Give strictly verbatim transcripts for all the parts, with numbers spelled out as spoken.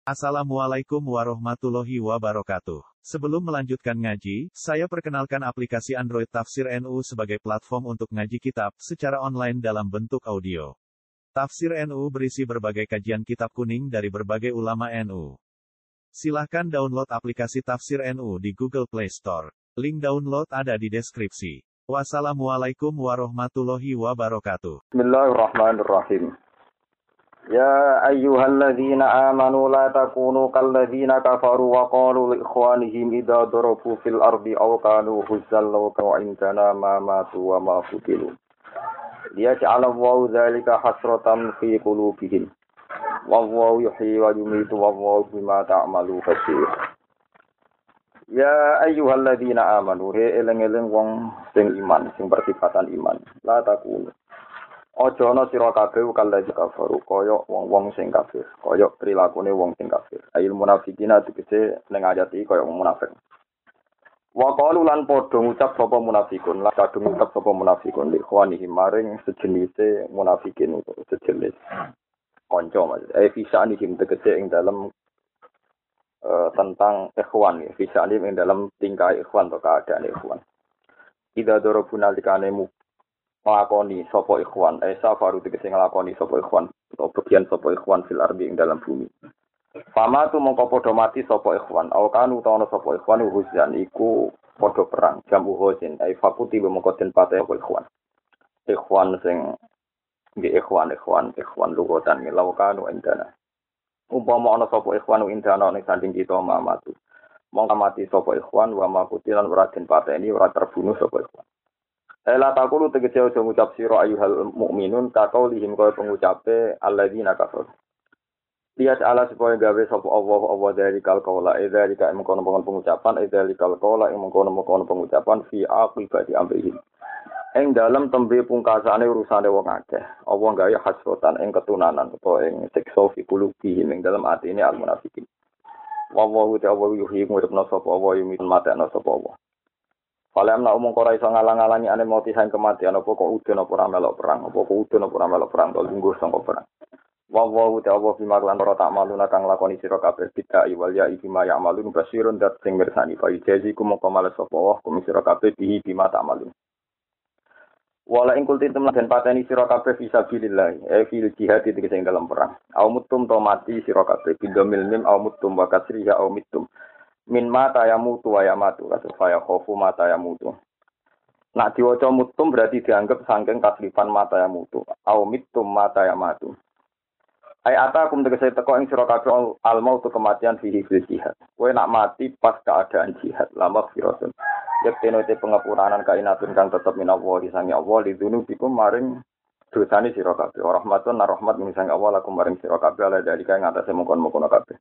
Assalamualaikum warahmatullahi wabarakatuh. Sebelum melanjutkan ngaji, saya perkenalkan aplikasi Android Tafsir N U sebagai platform untuk ngaji kitab secara online dalam bentuk audio. Tafsir N U berisi berbagai kajian kitab kuning dari berbagai ulama N U. Silahkan download aplikasi Tafsir N U di Google Play Store. Link download ada di deskripsi. Wassalamualaikum warahmatullahi wabarakatuh. Bismillahirrahmanirrahim. Ya ayyuhalladzina amanu la takunu kalladzina kafaru wa qalu li ikhwanihim idza darabu fil ardi aw kanu huzzal law kanu indana ma matu wa ma futilu. Liyaj'ala Allahu dzalika hasratan fi qulubihim. Wallahu yuhyi wa yumiitu wallahu bima ta'malu basir. Ya ayyuhalladzina amanu he eleng-eleng wong sing iman, sing bersifatan iman. La takunu Ojo ana sira kabeh kalaji kafaru kaya wong-wong sing kafir, kaya prilakune wong sing kafir. Ail munafiqina tegese ning ayat iki kaya wong munafik. Wa qalu lan padha ngucap sapa munafikun, lan kadung ngucap sapa munafikun li ikhwanihi maring sejenise munafikin utawa sejenis kanca maksud. Eh fisani him tegese ing dalem uh, tentang ikhwan ya, fisani ing dalem tingkah ikhwan atau keadaan ikhwan. Ida dorobuna likane nglakoni sapa ikhwan, eh safaru tegese nglakoni sapa ikhwan, utawa bagian sapa ikhwan fil ardi ing dalam bumi. Fama tu mongko padha mati sapa ikhwan, aw kanu utawa sapa ikhwan huzan iku padha perang, jamu huzin, ai fakuti mongko den pate sapa ikhwan. Ikhwan sing nggih ikhwan ikhwan ikhwan lugotan law kanu indana. Umpama ana sapa ikhwan indana ning sanding kita mamatu. Mongko mati sapa ikhwan wa makutilan ora den pateni ora terbunuh sapa ikhwan. Ela takulu tegese aja ngucap sira ayyuhal mukminun kaqaulihim kaya pengucape alladzina kafaru. Lihat ala supaya gawe sapa Allah Allah dari kal qaula idza lika mengkono-mengkono pengucapan idza likal qaula ing mengkono-mengkono pengucapan fi aqibati amrihim. Ing dalam tembe pungkasane urusane wong akeh. Allah gawe hasrotan ing ketunanan utawa ing siksa fi qulubihim ing dalam atine al munafiqin. Wallahu ta'ala yuhyi nguripna sapa Allah yumin matena sapa Allah. Falam na umum ora iso ngalang-alangi ane mati sang kematian apa kok udun apa ora melok perang apa kok udun apa ora melok perang to lungguh sangka perang. Wa wa ta'ala fi maglan ora tak maluna kang lakoni sira kabeh bidai wal ya iki ma ya'malun basirun dat sing mirsani fa jazikum mongko males sapa wa kum sira kabeh bihi bima ta'malun. Wala ing kultin temen den pateni sira kabeh fisabilillah e fil jihad iki sing dalam perang. Au mutum to mati sira kabeh bidomil mim au mutum wa kasriha au mitum. Min mata ya mutu wa ya matu kasufaya khofu mata ya mutu. Nak diwaca mutum berarti dianggap saking kasrifan mata ya mutu au mitum mata ya matu. Ai atakum tegese teko ing sira kabeh al mautu kematian fihi fil jihad. Kowe nak mati pas keadaan jihad lama firatun. Yektene te pengapuranan kainatun kang tetep minawa disangi Allah lidunubikum maring dosane sira kabeh. Rahmatun rahmat misangi Allah lakum maring sira kabeh ala dalika ing atase mongkon-mongkon kabeh.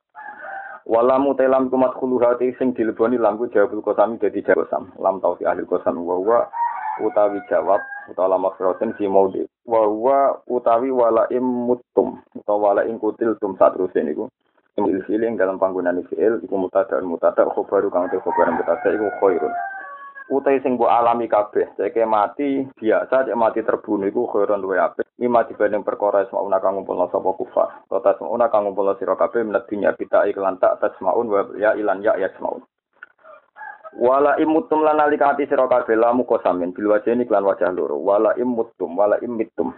Wala mutelam kumat khuluhati sing dileboni lamku jawabul qasami dadi jawab lam tau fi ahli qasam wa huwa utawi jawab utawa maksudun fi maudi wa huwa utawi wala im mutum utawa wala ing kutil tum satruse niku il filing dalam panggonane fiil iku mutada mutada khobaru kang te khobaran mutada iku khairun utai sing mbok alami kabeh ceke mati biasa cek mati terbunuh iku khairun luwe apik mimma dibanding perkara semauna kang ngumpulna sapa kufar totas semauna kang ngumpulna sira kabeh minat dunya kita iklan tak tasmaun wa ya ilan ya yasmaun wala imutum lan alikati sira kabeh lamu kosamin bil wajeni iklan wajah loro wala imutum wala imitum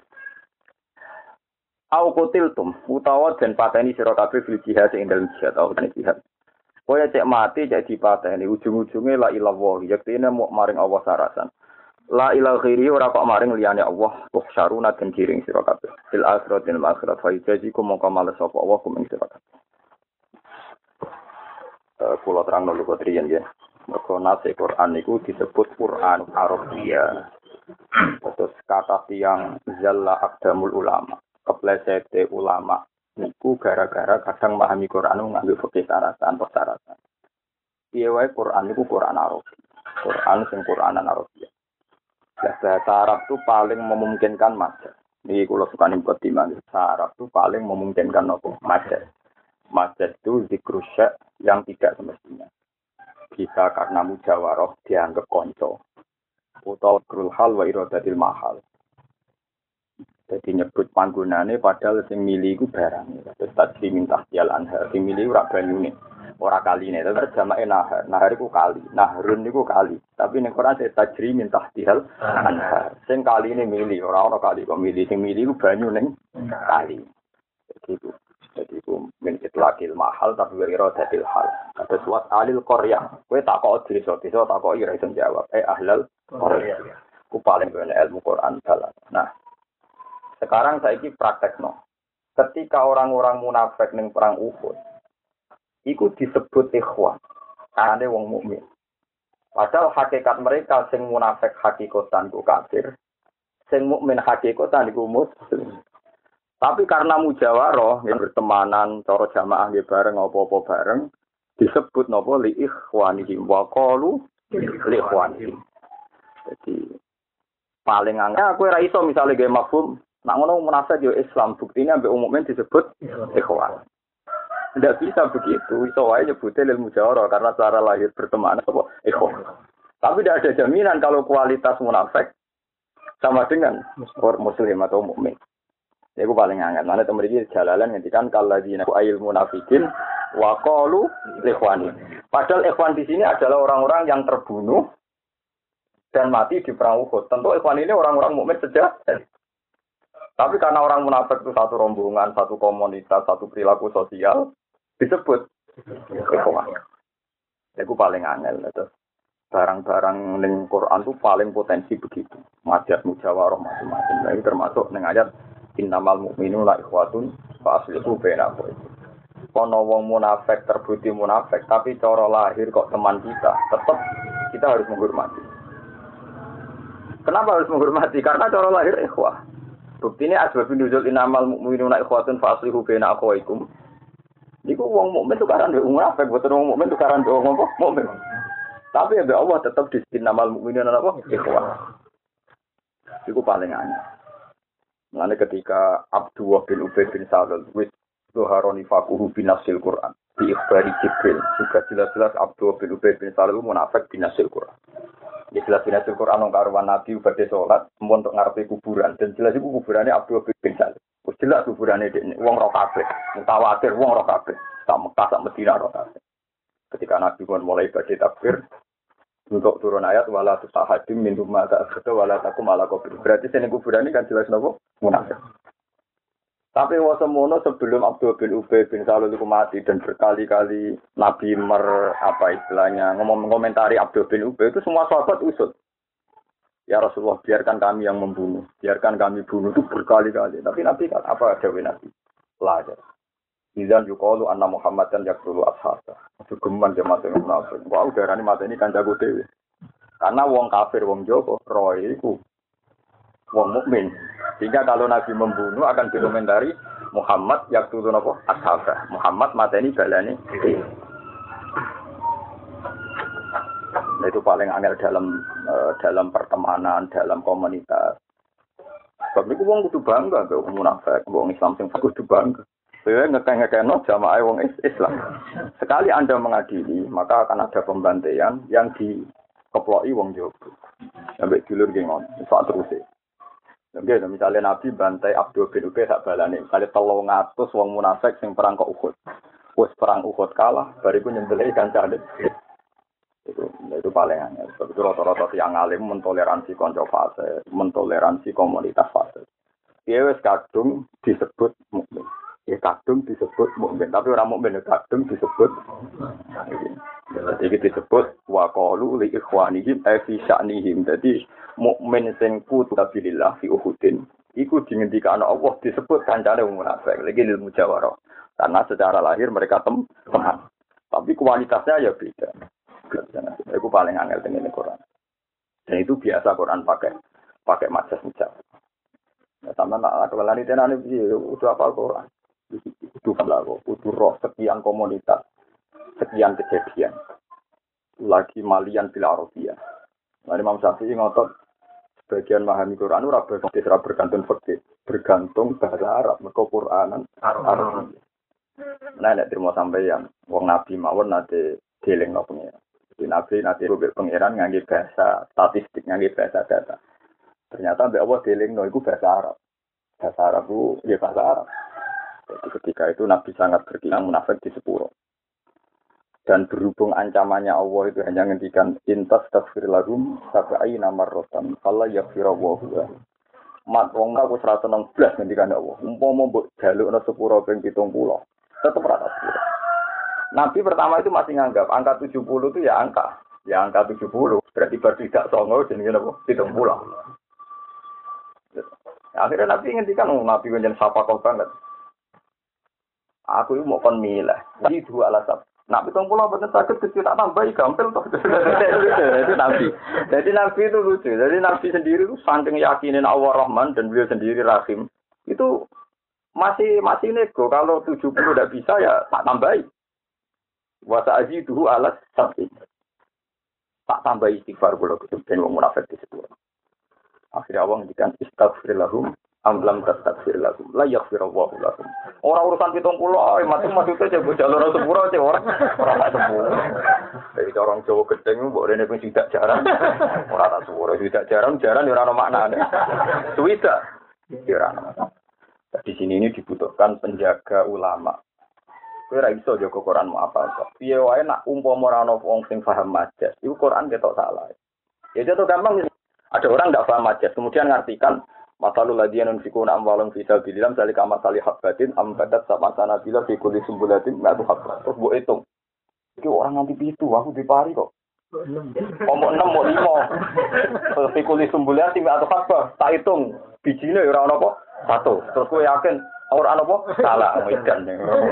au qutiltum utawa den pateni sira kabeh fil jihad ing dalem jihad au jihad. Kowe cek mati cek dipateni ujung-ujunge la ilallah yaktine muk maring Allah sarasan. La ilaha ghairi ora kok maring liyane Allah tuh syaruna den kiring sira kabeh. Fil akhiratil akhirat fa yajikum mongko males sapa Allah kuming sira kabeh. Eh kula terangno lho triyen nggih. Mergo nase Quran niku disebut Quran Arabia. Terus kata tiang zalla aqdamul ulama. Keplesete ulama niku gara-gara kadang memahami Quran nganggo fikih syaratan atau syaratan. Piye wae Quran niku Quran Arab. Quran sing Quranan Arabia. Lah bahasa Arab itu paling memungkinkan majaz. Niki kula sukani mukadimah. Bahasa Arab itu paling memungkinkan apa? Majaz. Majaz itu zikrusya yang tidak semestinya. Bisa karena mujawarah dianggap konco. Utawa krul hal wa iradatil mahal. Jadi nyebut panggonane padahal sing milih iku barang. Terus tadi minta tial anhar, sing milih ora banyune. Ora kaline, terus jamake nahar. Nahar iku kali, nahrun iku kali. Tapi ning Quran saya tajri minta tial anhar. Sing kaline milih, ora ana kali kok milih, sing milih iku banyu ning kali. Jadi itu, jadi itu min itlaqil mahal tapi wira dadil hal. Kata suat alil qaryah. Kowe takok desa, desa takok ira iso jawab. Eh ahlal qaryah. Ku paling bener ilmu Quran dalan. Nah, sekarang saiki praktekno. Ketika orang-orang munafik ning perang Uhud, iku disebut ikhwan. Karena wong mukmin. Padahal hakikat mereka sing munafik hakikatan ku kafir, sing mukmin hakikatan iku muslim. Tapi karena mujawarah, yang bertemanan, cara jamaah nggih bareng apa-apa bareng, disebut napa li ikhwanihim wa qalu li ikhwanihim. Jadi paling angel aku ora iso misale gawe mafhum. Nak ngono munafik yo Islam, buktinya ambek umumnya disebut ikhwan. Tidak bisa begitu, iso wae nyebute lil mujawarah karena cara lahir berteman apa ikhwan. Tapi tidak ada jaminan kalau kualitas munafik sama dengan muslim atau mukmin. Ya aku paling angel. Mana temen iki jalalan ngendikan kalladzina ayil munafikin wa qalu ikhwani. Padahal ikhwan di sini adalah orang-orang yang terbunuh dan mati di perang Uhud. Tentu ikhwan ini orang-orang mukmin sejati. Tapi karena orang munafik itu satu rombongan, satu komunitas, satu perilaku sosial, disebut ikhwan. Itu paling angel. Itu. Barang-barang ning Quran itu paling potensi begitu. Madat mujawarah macam-macam. Nah, ini termasuk ning ayat innamal mu'minuna ikhwatun fa aslihu bainakum. Kono wong munafik terbukti munafik, tapi cara lahir kok teman kita, tetap kita harus menghormati. Kenapa harus menghormati? Karena cara lahir ikhwah. Bukti ini asbabun nuzul innamal mu'minuna ikhwatun fa aslihu baina akhawaykum. Niku wong mukmin tukaran mbek munafik, boten wong mukmin tukaran mbek wong mukmin. Tapi ya Allah tetap di innamal mu'minuna apa? Ikhwah. Iku paling aneh. Mulane ketika Abdullah bin Ubay bin Salul wis zuharoni faquhu bin nasil Quran di ikhbari Jibril, juga jelas-jelas Abdullah bin Ubay bin Salul munafik bin nasil Quran. Ya jelas bin nasil Quran nang karuan Nabi badhe salat mun untuk ngarepe kuburan dan jelas iku kuburane Abdullah bin Salul. Wis jelas kuburane dekne wong ro kabeh, mutawatir wong ro kabeh, sak Mekah sak Madinah ro kabeh. Ketika Nabi pun mulai badhe takbir untuk turun ayat wala tusahadim min rumma ta'khudhu wala takum ala qabr. Berarti sene kuburan ini kan jelas napa? Munafik. Tapi wasemono sebelum Abdul bin Ubay bin Salul itu mati dan berkali-kali Nabi mer apa istilahnya ngomong komentari Abdul bin Ubay itu semua sahabat usut. Ya Rasulullah biarkan kami yang membunuh, biarkan kami bunuh itu berkali-kali. Tapi Nabi kan apa dawuh Nabi? Lajar. Izan yuqalu anna Muhammadan yaqtulu ashaba. Geman jemaat yang munafik. Wah, udarane mate ini kan jago dhewe. Karena wong kafir wong Jawa roe iku wong mukmin. Sehingga kalau Nabi membunuh akan dikomentari Muhammad yaqtulu napa ashaba. Muhammad mateni balane. Nah, itu paling angel dalam uh, dalam pertemanan, dalam komunitas. Sebab itu wong kudu bangga mbek wong munafik, wong Islam sing kudu bangga. Saya ngekeng-ngekengno jamaah wong Islam. Sekali Anda mengadili, maka akan ada pembantaian yang dikeploki wong Jawa. Sampai dulur nggih ngono, sak teruse. Nggih, misalnya Nabi bantai Abdul bin Ubay sak balane, kali telung atus wong munafik sing perang ke Uhud. Wis perang Uhud kalah, bariku nyembelih kancane. Itu itu paling aneh. Sebab itu rata-rata yang alim mentoleransi konco fase, mentoleransi komunitas fase. Dia wis kadung disebut mukmin. Ya kadung disebut mukmin, tapi orang mukmin ya kadung disebut. Jadi disebut wa qalu li ikhwanihim ay fi sya'nihim. Jadi mukmin sing kutabilillah fi Uhudin iku dingendikane Allah disebut kancane wong munafik. Lagi ilmu mujawarah. Karena secara lahir mereka tem teman. Tapi kualitasnya ya beda. Itu paling angel dengan Quran. Dan itu biasa Quran pakai pakai majas mujawarah. Ya sama nak kelalani tenane piye udah apa Quran. Itu kalau itu roh sekian komunitas, sekian kejadian, lagi malian bila Arabia. Nah, Imam Syafi'i ngotot sebagian memahami Quran ora bergantung fikih, bergantung bahasa Arab, mergo Quranan Arab. Nah, nek terima sampeyan wong Nabi mawon nate dielingno pengiran. Di Nabi nate rubek pengiran ngangge bahasa statistik, ngangge bahasa data. Ternyata mbek Allah dielingno iku bahasa Arab. Bahasa Arab itu ya bahasa Arab. Jadi ketika itu Nabi sangat berkilang munafik di sepuro. Dan berhubung ancamannya Allah itu hanya ngendikan intas tafsir lahum sab'ai namar rotan fala yaghfirullahu lahum. Mat wong aku seratus enam belas ngendikan Allah. Umpama mbok jalukna sepuro ping pitung puluh, tetep rata sepuro. Nabi pertama itu masih nganggap angka tujuh puluh itu ya angka. Ya angka tujuh puluh berarti baru tidak songo jenenge apa? pitung puluh. Akhirnya Nabi ngendikan oh, Nabi njen sapa kok banget. Aku itu mau kon milah. Jadi dua alasan. Nak pitung puluh betul sakit kecil tak tambahi gampil toh. Jadi Nabi. Jadi Nabi itu lucu. Jadi Nabi sendiri itu saking yakinin Allah Rahman dan beliau sendiri Rahim. Itu masih masih nego. Kalau tujuh puluh tidak bisa ya tak tambahi. Wasa aji dulu alat sapi. Tak tambahi istighfar kalau itu dan wong munafik di situ. Akhirnya Allah ngendikan istaghfirlahum am lam tastaghfir lahum la yaghfirullahu lahum. Ora urusan pitung puluh ae mati maksudnya coba jalur sepuro aja ora ora tak sepuro. Dari orang Jawa gedeng mbok rene ping tidak jarang. Ora tak sepuro tidak jarang jarang ya ora ono maknane. Suwida ya ora ono. Di sini ini dibutuhkan penjaga ulama. Kowe ora iso jaga Quranmu apa kok. Piye wae nak umpama ora ono wong sing paham majas, iku Quran ketok salah. Ya jatuh gampang. Ada orang tidak paham majas, kemudian ngartikan masalul ladiyan unfikuna amwalum fi sabilillah zalika masali habbatin ambadat sama sana bila fi kulli sumbulatin ma'atu habbat. Terus mbok hitung. Iki orang nganti pitu, aku dipari kok. Omong enam mau lima. Terus fi kulli sumbulatin ma'atu habbat. Tak hitung bijine ora ono apa? Satu. Terus kowe yakin ora ono apa? Salah edan.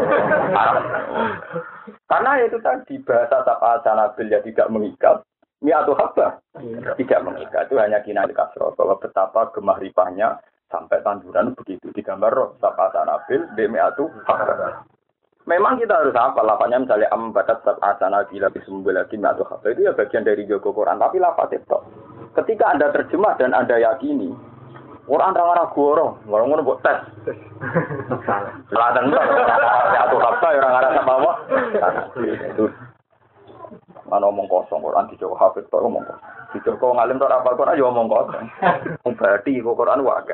Karena itu tadi bahasa tapa sanabil ya tidak mengikat. Mi'atu habba tidak mengikat, itu hanya kinayah kasroh bahwa betapa gemah ripahnya sampai tanduran begitu digambar roh sapa sanabil bi mi'atu habba. Memang kita harus hafal lafaznya misalnya am badat sapa sanabil bi sumbulatin mi'atu habba itu ya bagian dari jago Quran tapi lafaz itu. Ketika Anda terjemah dan Anda yakini Quran ora goro, ngono-ngono mbok tes. Salah dan mi'atu habba ya ora ngarep apa-apa. Itu mana omong kosong Quran dicoba hafid tok omong kosong. Dicoba ngalim tok apal Quran ya omong kosong. Wong berarti kok Quran wae.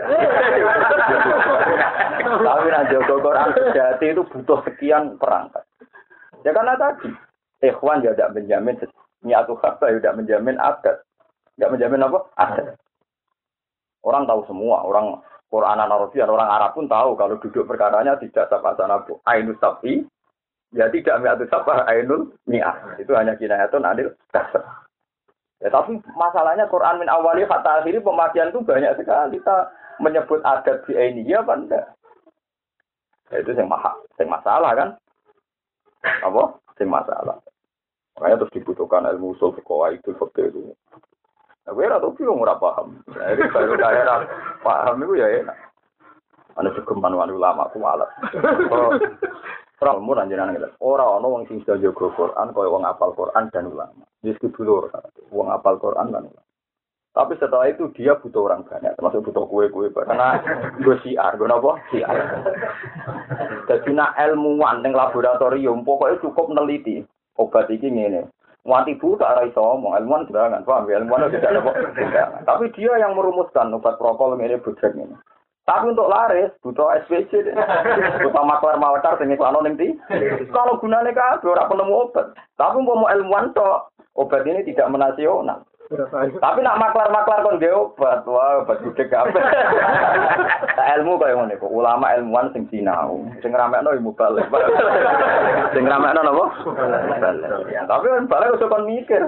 Tapi nek jaga Quran sejati itu butuh sekian perangkat. Ya karena tadi ikhwan ya tidak menjamin niatu kata ya tidak menjamin adat. Tidak menjamin apa? Adat. Orang tahu semua, orang Quranan Arabian, orang Arab pun tahu kalau duduk perkaranya tidak sapa sanabu. Ainus safi ya tidak mi'atu sabah ainul mi'ah. Itu hanya kinayatun adil kasar. Ya tapi masalahnya Quran min awali hatta akhiri pemakaian itu banyak sekali. Kita menyebut adat di ini ya apa enggak? Ya itu yang maha, yang masalah kan? Apa? Yang masalah. Makanya terus dibutuhkan ilmu usul fiqh itu fakir itu. Nah, gue rata film ora paham. Jadi baru daerah paham itu ya enak. Ana segeman ulama ku alat. Ora mun anjenan ngene. Ora ana wong sing bisa jaga Quran kaya wong hafal Quran dan ulama. Wis dulur wong hafal Quran dan ulama. Tapi setelah itu dia butuh orang banyak, termasuk butuh kue-kue karena gue siar, gue apa? Siar. Jadi nak ilmuwan ning laboratorium pokoknya cukup neliti obat iki ngene. Mati bu tak ora iso ngomong, ilmuwan jangan paham ya, ilmuwan tidak ada kok. Tapi dia yang merumuskan obat prokol ngene bujek ngene. Tapi untuk laris butuh S P C, butuh maklar malakar sing iklan ning ndi. Kalau gunane kabeh ora penemu obat. Tapi mau ilmuwan tok, obat ini tidak menasional. Tapi nak maklar-maklar kon nggih obat, wah obat gede kabeh. Tak ilmu kaya ngene kok, ulama ilmuwan sing sinau, sing ramekno ilmu balik. Sing ramekno napa? Balik. Tapi kan balik kok kon mikir.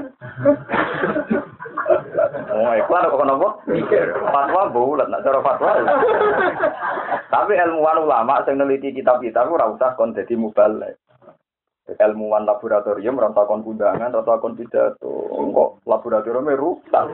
Oh, iklan kok napa? Mikir. Fatwa bulat, nak cara fatwa. Tapi ilmuwan ulama sing neliti kitab-kitab ora usah kon dadi mubalik. Ilmuwan laboratorium rata kon undangan, rata kon pidato. Kok laboratorium rusak.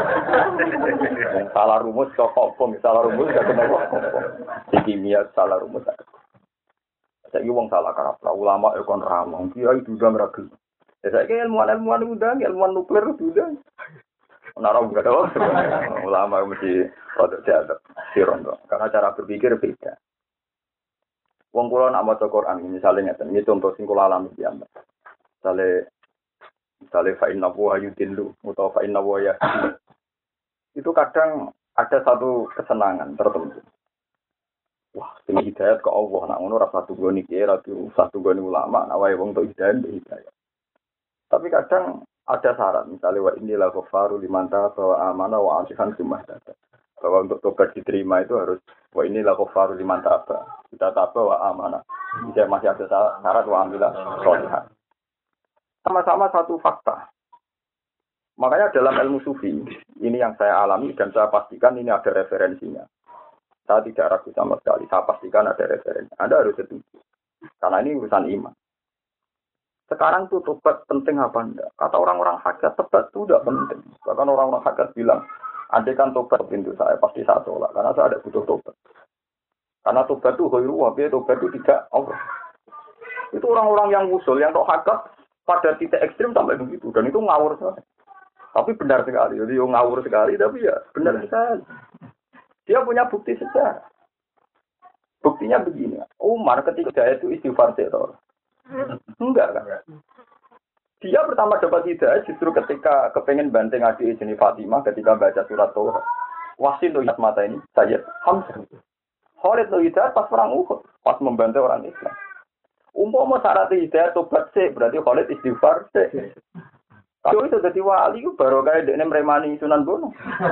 Salah rumus kok hukum, salah rumus gak kenapa. Di kimia salah rumus gak. Saiki wong salah kaprah, ulama e kon ramong, kiai diundang ra gelem. Ya saiki ilmuwan-ilmuwan undang, ilmuwan nuklir diundang. Ora ora gak ada. Ulama mesti rada jadak, sirondo. Karena cara berpikir beda. Wong kula nak maca Quran misale ngeten, iki contoh sing kula alami piye. Misale misale fa inna wa yudillu utawa fa inna wa yahdi. Itu kadang ada satu kesenangan tertentu. Wah, sing hidayat ke Allah, nak ngono ora satu goni kira, satu goni ulama, nak wae wong tok hidayat hidayat. Tapi kadang ada syarat, misalnya wa inilah ghafaru liman taba wa amana wa asihan sumah dada. Bahwa untuk tobat diterima itu harus wa inilah ghafaru liman taba, kita taba wa amana. Bisa masih ada syarat wa amilah sholihan. Sama-sama satu fakta. Makanya dalam ilmu sufi, ini yang saya alami dan saya pastikan ini ada referensinya. Saya tidak ragu sama sekali, saya pastikan ada referensi. Anda harus setuju. Karena ini urusan iman. Sekarang tuh tobat penting apa enggak? Kata orang-orang hakikat, tobat itu tidak penting. Bahkan orang-orang hakikat bilang, andai kan tobat pintu saya, pasti saya tolak. Karena saya ada butuh tobat. Karena tobat itu khairu wabiya, tobat itu tidak Allah. Itu orang-orang yang usul, yang tok hakikat pada titik ekstrim sampai begitu. Dan itu ngawur sekali. Tapi benar sekali. Jadi ngawur sekali, tapi ya benar sekali. Dia punya bukti sejarah. Buktinya begini. Umar ketika itu istighfar teror. Enggak kan? Dia pertama dapat hidayah justru ketika kepengen banting adik jenis Fatimah ketika baca surat Toha. Wasin tuh mata ini saya Hamzah. Khalid tuh hidayah pas perang Uhud, pas membantu orang Islam. Umpama syarat hidayah tobat sih, berarti Khalid istighfar sih. Kalau itu jadi wali itu baru kayak dekne meremani Sunan Bono.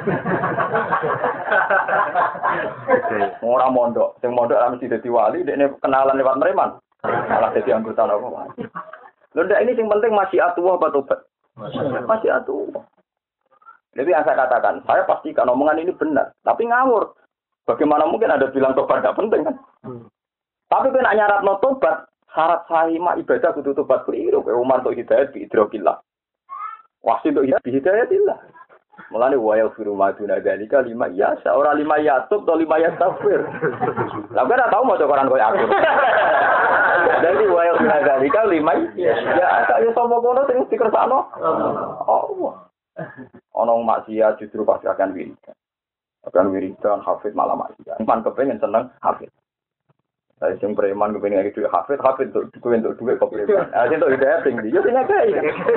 Orang mondok, yang mondok mesti jadi wali, dekne kenalan lewat mereman. Malah jadi anggota apa? Lho ndak ini yang penting masih atuh apa tobat? Masih atuh. Jadi yang saya katakan, saya pastikan omongan ini benar, tapi ngawur. Bagaimana mungkin ada bilang tobat tidak penting kan? Hmm. Tapi kena nyarat no tobat, syarat sahih mah ibadah kudu tobat keliru. Kayak Umar untuk hidayat bi idrokillah. Wasit untuk hidayat bi hidayatillah. Mulane wa yaghfiru ma duna dzalika lima ya, seorang lima yatub atau lima yastaghfir. Lah kan tahu maca Quran koyo aku. Jadi wa yaghfiru dzalika lima ya, ya sapa kono sing dikersakno. Oh. Ono maksiat justru pasti akan wiridan. Akan wiridan hafid malah maksiat. Man kepengen seneng hafid. Saya sing preman kepengen iki duit hafid, hafid untuk duit untuk duit kok preman. Ah sing untuk hidayah sing ndi? Yo sing akeh.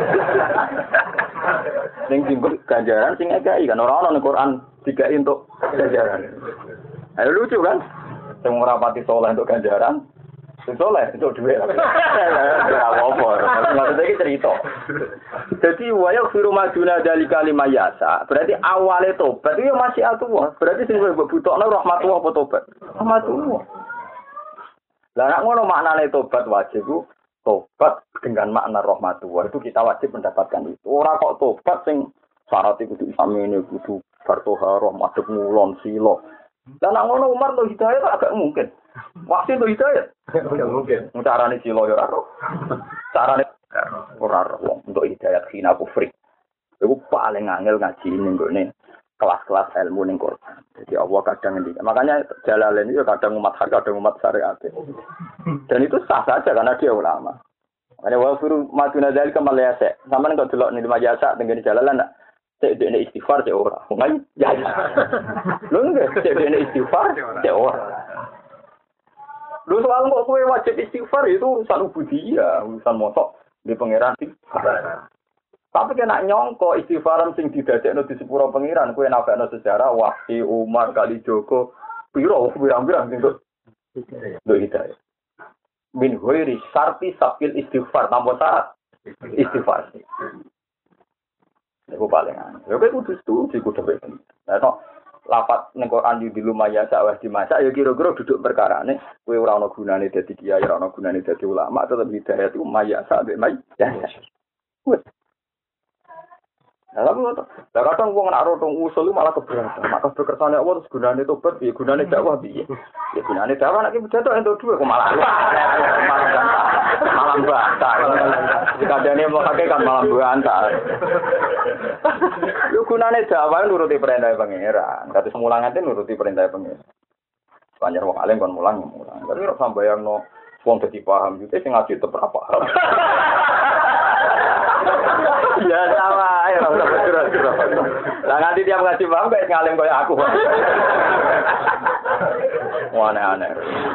Sing timbul ganjaran sing akeh kan ora ono ning Quran digawe untuk ganjaran. Ayo lucu kan? Sing ora pati saleh untuk ganjaran, sing saleh untuk duit. Ora apa-apa. Maksudnya iki cerita. Jadi waya firu maduna dari kalimah yasa. Berarti awale tobat itu masih atuh. Berarti sing mbok butuhno rahmatullah apa tobat? Rahmatullah. Lah nek ngono maknane tobat wajib ku tobat dengan makna rahmatullah itu kita wajib mendapatkan itu. Ora kok tobat sing syarat iku kudu samene kudu fartoha rahmatuk ngulon silo. Lah nek ngono Umar to hidayah agak mungkin. Waktu itu hidayah agak mungkin. Carane silo ya ora. Carane ora ora untuk hidayah khina kufri. Iku paling angel ngaji ning gone kelas-kelas ilmu ning Quran. Jadi Allah kadang ngendikan. Makanya Jalalain itu kadang umat hak, kadang umat syariat. Dan itu sah saja karena dia ulama. Makanya wa firu maduna dzalika malayasa. Sampeyan kok delok ning majasa tengene Jalalan nak cek dene istighfar cek ora. Ngai ya. Lho nggih cek dene istighfar cek ora. Lho soal kok kowe wajib istighfar itu urusan ubudiyah, urusan mosok di pangeran istighfar. Tapi kena nyongko istighfaran sing didadekno di sepuro pengiran kuwi nabakno sejarah Wahsi Umar kali Joko piro pirang-pirang sing kok lho hidayah. Min ghairi syarti sapil istighfar tanpa syarat istighfar. Iku paling an. Lha kok kudu setuju kudu ben. Lah tok lapat ning Quran di lumaya sawah dimasak ya kira-kira duduk perkarane kowe ora ana gunane dadi kiai ora ana gunane dadi ulama tetep hidayah itu maya sak mai. Wes Lah tapi ngono. Lah kadang wong nek ora usul malah keberatan. Maka kekersane Allah terus gunane tobat piye? Gunane dakwah piye? Ya gunane dakwah nek iki bedatok entuk dhuwit kok malah. Malah bantah. Kadane mau kakek kan malah bantah. Yo gunane dakwah nuruti perintah pangeran. Kados mulang ate nuruti perintah pangeran. Banyak wong alim kon mulang mulang. Tapi ora sambayangno wong dadi paham iki sing ngaji tetep ora paham. Ya sama, ya ora betul-betul. Lah nanti dia ngaji paham kayak ngalim kayak aku. Wah aneh-aneh.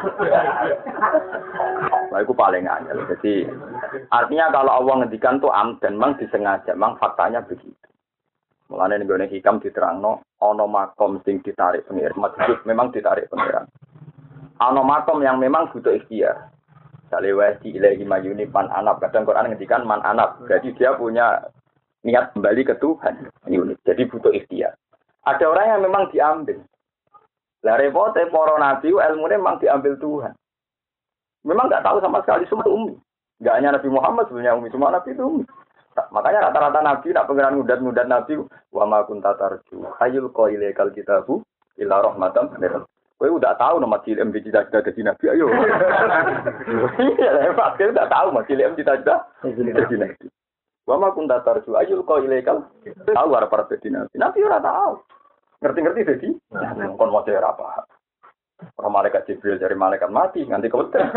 Nah, itu paling angel. Jadi artinya kalau Allah ngendikan tuh am dan mang disengaja, mang faktanya begitu. Mulane ning gone hikam diterangno ana makom sing ditarik pengiran, maksud memang ditarik pengiran. Ana makom yang memang butuh ikhtiar. Sale wa di ilahi mayuni man anab. Kadang Quran ngendikan man anab. Jadi dia punya niat kembali ke Tuhan. Ini jadi butuh ikhtiar. Ada orang yang memang diambil. Lah repote para nabi ilmune memang diambil Tuhan. Memang enggak tahu sama sekali semua umi. Enggak hanya Nabi Muhammad sebenarnya umi, cuma nabi itu umi. Makanya rata-rata nabi nak pengiran ngudat-ngudat nabi wa ma kunta tarju ayyul qailaikal kitabu illa rahmatan lil kowe udah tahu nama cilik cita-cita jadi nabi ayo. Iya, pasti udah tahu mas cilik cita-cita jadi nabi. Wa ma kunta tarju ayyul qailaikal tahu arep arep jadi nabi. Nabi ora tahu. Ngerti-ngerti jadi kon mau ora paham. Ora malaikat Jibril dari malaikat mati nganti keweden.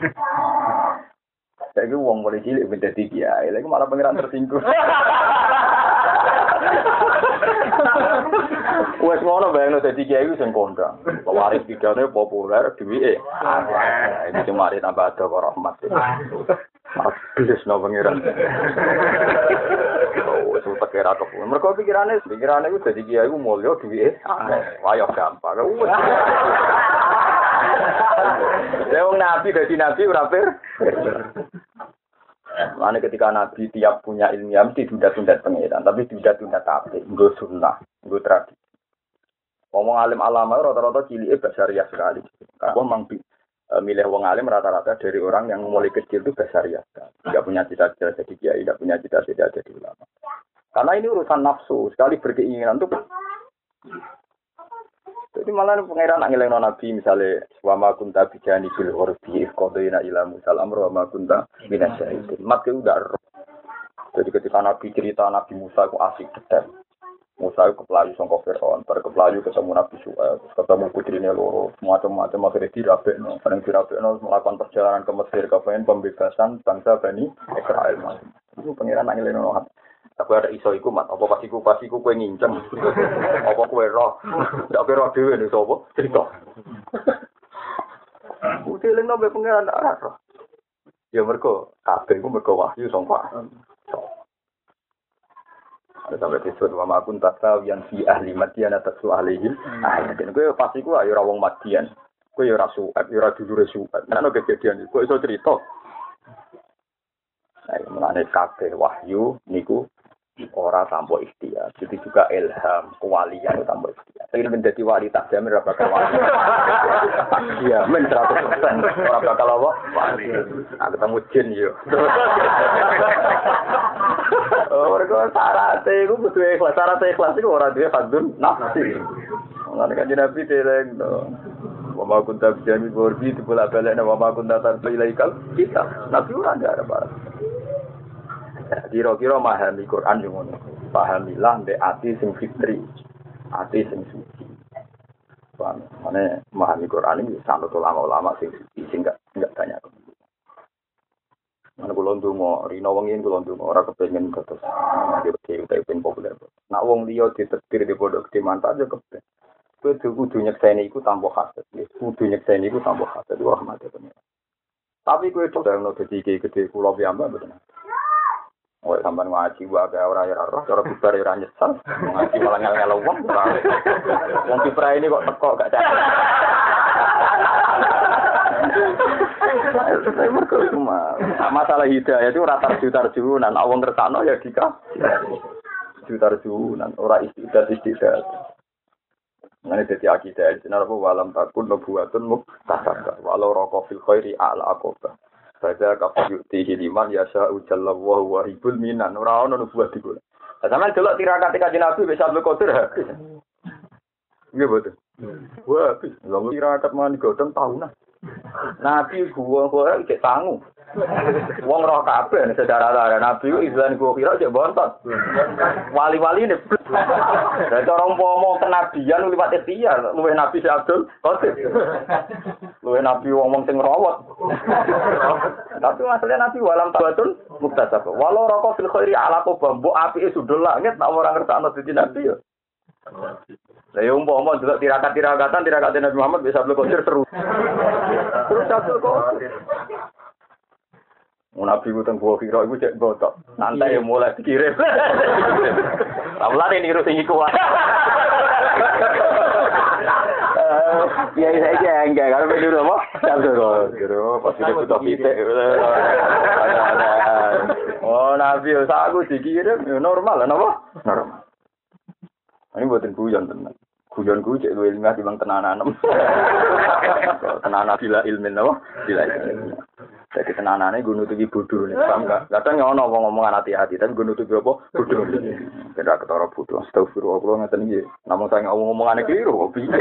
Saya itu uang boleh cilik minta tinggi ya, lagi malah pangeran tersinggung. Wes ngono bayangno dadi kiai wis sing kondang. Pewaris pidane populer duwike. Ini cuma ari tambah ada karo rahmat. Habis no pangeran. Oh, itu pikir aku. Mergo pikirane, pikirane iku dadi kiai ku mulya duwike. Wayo gampang. Lewong nabi dadi nabi ora per. Lalu ketika Nabi tiap punya ilmiah mesti tunda-tunda pengiran, tapi tunda-tunda tapi nggak sunnah, nggak tradisi. Ngomong alim alama rata-rata cilik basariah sekali. Kalau memang milih wong alim rata-rata dari orang yang mulai kecil itu basariah, nggak punya cita-cita jadi kiai, nggak punya cita-cita jadi ulama. Karena ini urusan nafsu, sekali berkeinginan tuh. Jadi malah pengiran ngeleng Nabi misalnya wama kunta bijani bil urbi qadaina ila musal amru wama kunta minasyahidin. Mat ke udah. Jadi ketika Nabi cerita Nabi Musa itu asik detail. Musa itu kepelayu sangka Firaun, bar kepelayu ketemu Nabi Syuaib, ketemu putrine loro, macam-macam akhirnya dirabekno, bareng dirabekno melakukan perjalanan ke Mesir kepengen pembebasan bangsa Bani Israil. Itu pengiran ngeleng Nabi. Aku ada iso iku mat, apa pas iku pas iku kowe nginceng. Apa kowe roh? Ndak kowe roh dhewe nek sapa? Cerita. Udah leng nabe pengeran arah. Ya mergo kabeh iku mergo wahyu sangka. Ada sampai disebut wa ma kunta yang fi ahli Madian atasu alaihim. Ah, yen kowe pas iku ayo ora wong Madian. Kowe ya ora suat, ya ora dulure suat. Nek ana kejadian iku iso cerita. Nah, menane kabeh wahyu niku ora tanpa ikhtiar. Jadi juga ilham, kewalian tanpa ikhtiar. Ingin menjadi wali tak jamin ora bakal wali. Iya, men seratus persen ora bakal apa? Wali. Nah, ketemu jin yo. Oh, mergo syaratnya iku kudu ikhlas. Syarat ikhlas iku ora duwe fadzun nafsi. Ngene kan Nabi dereng to. Wa ma kunta bijani borbi dibola balekna wa ma kunta tarbi ilaikal kita. Nabi ora ada apa. Kira-kira memahami Quran yang ngono. Pahamilah mbek ati sing fitri, ati sing suci. Paham? Mane memahami Quran ini sanad ulama-ulama sing suci sing enggak enggak banyak. Mana kula ndonga, rino wengi kula ndonga ora kepengin terus dhewe pengen populer. Nak wong liya ditetir di pondok gede mantap ya kepen. Kowe kudu nyekseni iku tanpa hasad. Kudu nyekseni iku tanpa hasad rahmat ya. Tapi kowe coba ono dadi gede kula piyambak mboten. Oh, sampean ngaji wae ora ora roh, cara bubar ora nyesal. Ngaji malah ngel-ngel wong. Wong kipra ini kok teko gak cak. Masalah hidayah itu rata jutar-junan, awang ngertakno ya dika. Jutar-junan, ora istiqdat istiqdat. Ngene dadi akidah, jenenge walam takun nubuwatun muktasabah. Walau raqa fil khairi a'la aqaba. Baca kafir yu'tihi liman yasha ujalla wa huwa ribul minan. Ora ono nubuat iku. Lah sampeyan delok tirakat kanjeng Nabi wis Abdul Qadir habis. Nggih boten. Wah, habis. Lah tirakat man godhong tahunan. Nabi gua gua cek sangu. Wong roh kabeh sejarah-sejarah Nabi ku izan gua kira cek bontot. Wali-wali ne. Lah cara umpama kenabian liwat ikhtiar, luwih Nabi si Abdul Qadir. Luwih Nabi wong-wong sing rawat. Tapi masalahnya Nabi walam tabatun muktasab. Walau raqo fil khairi ala qabah, mbok apike sudul langit tak ora ngertakno dadi Nabi ya. Lah yo umpama delok tirakat-tirakatan tirakat Nabi Muhammad bisa Abdul Qadir seru. Terus Abdul Qadir. Nabi ku teng gua kira iku cek botok. Nanti ya mulai dikirim. Lah mulane niru sing iku wae. Iya saya aja enggak kalau dulu apa? Dulu dulu pas itu butuh pitik. Oh nabi aku dikirim normal lah napa? Normal. Ini buatin guyon tenan. Guyon gue cek dua ilmiah timbang tenanan. Tenanan bila ilmin napa? Bila ilmin. Jadi tenanane gue nutupi bodoh nih, paham nggak? Kadang nggak ono ngomong-ngomongan hati-hati, tapi gue nutupi apa? Bodoh. Tidak ketara bodoh. Astagfirullah ngeten iki. Namun saya ngomong-ngomongan keliru, kok piye?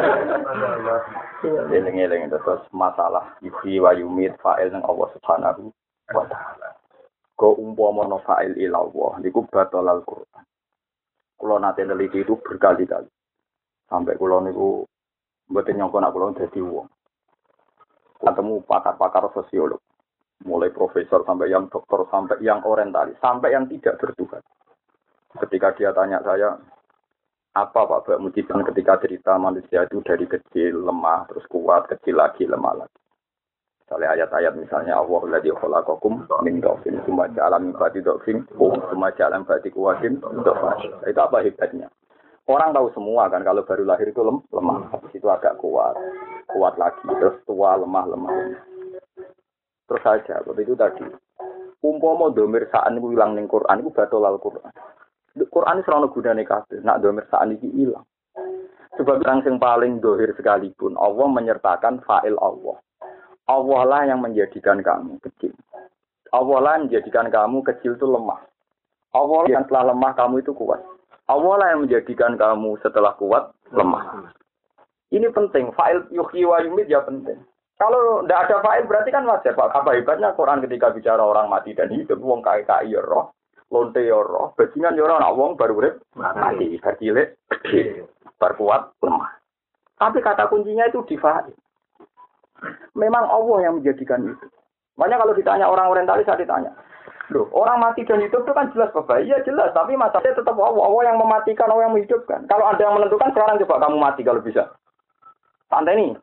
Eling-eling terus masalah yuhyi wa yumit fa'il nang Allah Subhanahu wa taala. Go umpama no fa'il ila Allah, niku batal Al-Qur'an. Kulo nate neliti itu berkali-kali. Sampai kulo niku mboten nyangka nek kulo dadi wong. Ketemu pakar-pakar sosiolog, mulai profesor sampai yang dokter sampai yang orientalis sampai yang tidak bertuhan. Ketika dia tanya saya, apa Pak Bak Mujiban ketika cerita manusia itu dari kecil lemah terus kuat, kecil lagi lemah lagi. Misalnya ayat-ayat misalnya Allahul ladzi khalaqakum min dhafin tsumma ja'ala min ba'di dhafin tsumma ja'ala min ba'di quwwatin dhafan. Itu apa hebatnya? Orang tahu semua kan kalau baru lahir itu lem, lemah, habis itu agak kuat, kuat lagi, terus tua, lemah, lemah. Terus saja, seperti itu tadi. Umpama domir sa'an itu hilang ning Quran, itu batal Al-Quran. Quran itu selalu gunanya kabeh, nak domir sa'an itu hilang. Sebab yang paling dohir sekalipun, Allah menyertakan fa'il Allah. Allah lah yang menjadikan kamu kecil. Allah lah yang menjadikan kamu kecil itu lemah. Allah yang setelah lemah kamu itu kuat. Allah lah yang menjadikan kamu setelah kuat, lemah. Ini penting. Fa'il yuhyi wa yumit ya penting. Kalau tidak ada fa'il berarti kan wajar. Pak. Apa hebatnya Quran ketika bicara orang mati dan hidup. Wong kai-kai ya roh. Lonte ya roh. Bajingan ya roh. Nak wong baru urip mati. Bercilik, berkuat, lemah. Tapi kata kuncinya itu di fa'il. Memang Allah yang menjadikan itu. Makanya kalau ditanya orang orientalis saya ditanya. Loh, orang mati dan hidup itu kan jelas Bapak. Iya jelas, tapi masalahnya tetap Allah. Allah yang mematikan, Allah yang menghidupkan. Kalau ada yang menentukan, sekarang coba kamu mati kalau bisa. Santai nih.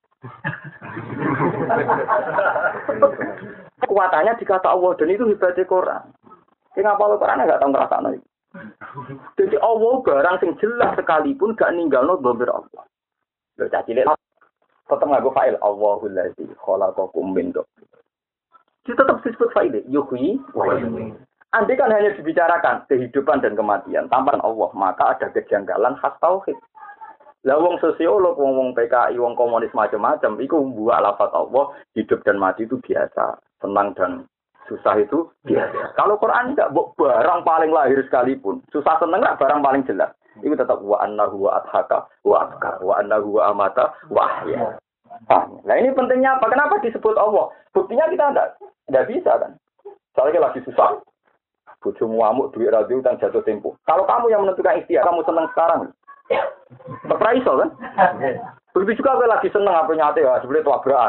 Kekuatannya dikata Allah, dan itu hebatnya Quran. Kenapa Allah Quran nggak tahu ngerasanya? Jadi Allah barang yang jelas sekalipun gak ninggalno dhamir Allah. Loh, cacilik. Tetap nggak gue fa'il. Allahul ladzi khalaqakum min dhafin. Dia tetap disebut fa'il, yuhyi wa yumiit. Andai kan hanya dibicarakan kehidupan dan kematian tanpa Allah, maka ada kejanggalan khas tauhid. Lah wong sosiolog, wong wong P K I, wong komunis macam-macam, iku buat lafaz Allah, hidup dan mati itu biasa, senang dan susah itu biasa. Kalau Quran enggak, barang paling lahir sekalipun, susah senang enggak barang paling jelas. Itu tetap wa annahu wa adhaka wa abka wa annahu wa amata wa ahya. Nah, ini pentingnya apa? Kenapa disebut Allah? Buktinya kita enggak Tidak bisa kan. Soalnya lagi susah. Bojomu amuk, duit radio, dan jatuh tempo. Kalau kamu yang menentukan ikhtiar, kamu senang sekarang. Tetap iso kan? Begitu juga kalau lagi senang apa nyate ya, sebenarnya tabrakan.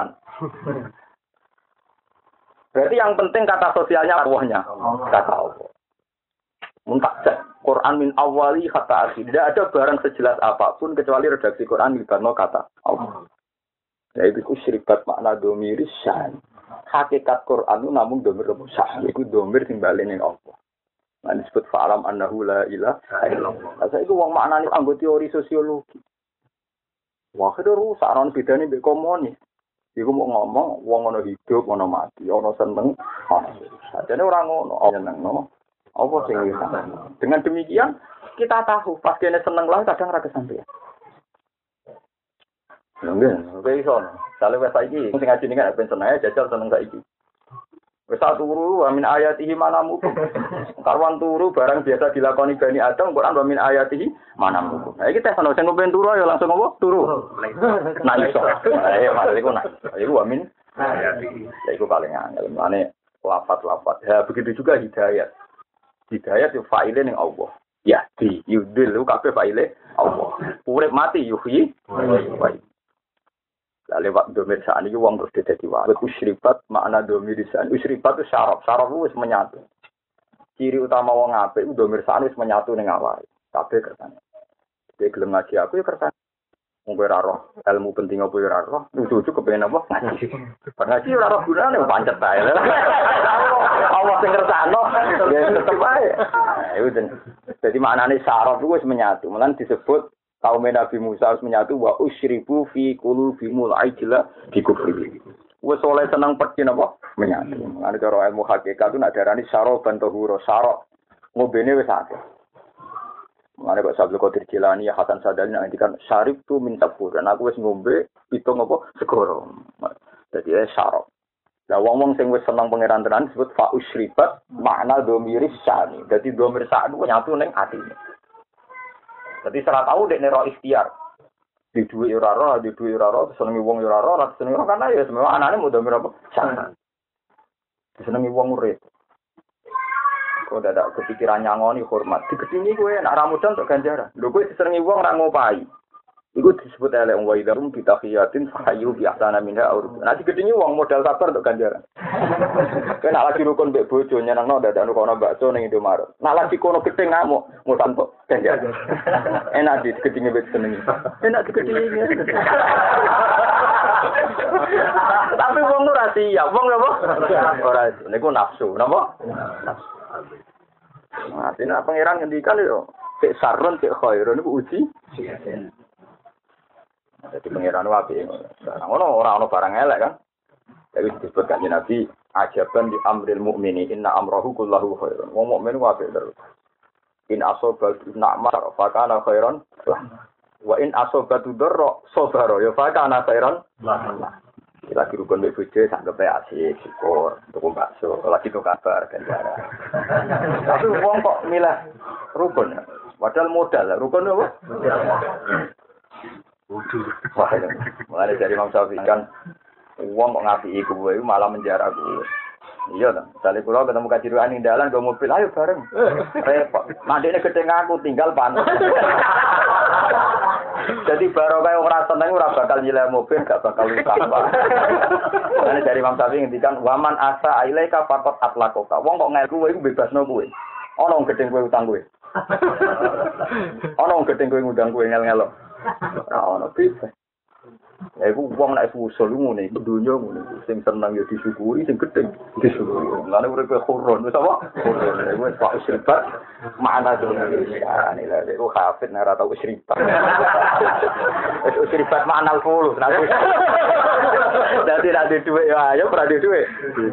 Berarti yang penting kata sosialnya Allahnya. Kata Allah. Muntajat. Quran min awali kata akhir. Tidak ada barang sejelas apapun kecuali redaksi Quran libatno kata Allah. Yaitu syirikat makna domiris syan. Hakikat Quran itu namun domir sah. Itu domir timbalik ning Allah. Nah disebut fa'alam annahu la ilaha illallah. Nah itu wong maknane anggo teori sosiologi. Wah itu rusak non bedane mbek komunis. Iku mau ngomong wong ana hidup, ana mati, ana seneng, ana susah. Jane ora ngono, seneng no. Apa sing dengan demikian kita tahu pas kene seneng lah kadang ra kesampean. Nggih, oke iso. Sale wis saiki sing ngaji ning ben seneng jajal seneng saiki. Wis turu wa min ayatihi manamu. Karwan turu barang biasa dilakoni Bani Adam Quran wa min ayatihi manamu. Nah iki tes ono sing kepen turu ya langsung apa? Turu. Nah iso. Ayo mari iku nak. Iku wa min ayatihi. Iku paling angel. Mane lafaz-lafaz. Ya begitu juga hidayat. Hidayat itu fa'ile ning Allah. Ya di yudil kabeh fa'ile Allah. Urip mati yuhyi wa yumiit. Lah lewat domir sa'an iki wong terus dadi wae. Usribat makna domir sa'an. Usribat itu syaraf. Syaraf itu wis menyatu. Ciri utama wong apik itu domir sa'an wis menyatu ning awake. Kabeh kersane. Dek gelem ngaji aku ya kersane. Wong ora roh ilmu penting apa ora roh. Lucu-lucu kepengin apa? Ngaji. Bar ngaji ora roh gunane pancet bae. Allah sing kersane ya tetep ae. Iku dadi maknane syaraf itu wis menyatu. Mulan disebut Kaum Nabi Musa harus menyatu wa usyribu fi qulubihimul ajla bi kufri. Wes oleh seneng peti napa? Menyatu. Ngene cara ilmu hakikat itu nak darani syaraban tahura, syarab. Ngobene wis akeh. Mane kok Abdul Qadir Jilani ya Hasan Sadali ngendikan syarib tu min sabur. Dan aku wis ngombe pitung apa segoro. Dadi ya syarab. Lah wong-wong sing wis seneng pangeran tenan disebut fa usyribat makna dhamir syani. Dadi dhamir sak nyatu ning atine. Dadi ora tau dekne ro ikhtiar. Di duwe ora ro, di duwe ora ro, senengi wong ora ro, ora senengi wong kana ya semua anane mudah dhamir apa? Syani. Senengi wong urip. Kok dadak kepikiran nyangoni hormat. Digedingi kowe nek ra modal untuk ganjaran. Lho kowe disenengi wong ra ngopahi. Iku disebut elek wa idarum bitahiyatin fahayu bi ahsana minha aur. Nah digedingi wong modal sabar untuk ganjaran. Kowe nek lagi rukun mbek bojo nyenengno dadak nukono bakso ning Indomaret. Nek lagi kono gedeng ngamuk mutan kok ganjaran. Enak di digedingi mbek senengi. Enak digedingi. Tapi wong ora siap, wong apa? Ora niku nafsu, napa? Nafsu. Nah, dina pangeran ngendikan yo, sik sarun sik khairun niku uji. Jadi pangeran wae. Ngono ora ono barang elek kan. Tapi disebut kanjeng Nabi ajaban di amril mukmini inna amrahu kullahu khairun. Wong mukmin wae terus. In asoba na'mar fa kana khairan. Wa in asoba darra sabara ya fa kana khairan. Lagi rukun mbek bojo sanggepe asik syukur tuku bakso lagi tuh kabar ganjaran. Tapi wong kok milah rukun padahal modal rukun apa? Wudu. Wah, mulai dari Imam Syafi'i kan wong kok ngapiki kuwe malah menjara kuwe. Iya ta, misalnya kula ketemu kajiruan ning dalan go mobil ayo bareng. Repot. Mandene gedeng aku tinggal panas. Jadi baru kayak orang seneng ora bakal nyileh mobil, gak bakal lupa. Karena dari Imam Syafi'i ngendikan waman asa ilaika faqat atlaqaka. Wong kok ngel kowe iku bebasno kowe. Ana wong gedeng kowe utang kowe. Ana wong gedeng kowe ngundang kowe ngel-ngelo. Ora ono bebas. Ya iku wong nek usul ngene, dunya ngene. Sing seneng ya disyukuri, sing gedeng disyukuri. Lane urip khurun, wis apa? Khurun. Wis pak sribat mana dunya. Ya nila iku hafid nek ora tau sribat. Wis sribat makna al-qulu. Dadi ra di dhuwit ya ayo ora di dhuwit.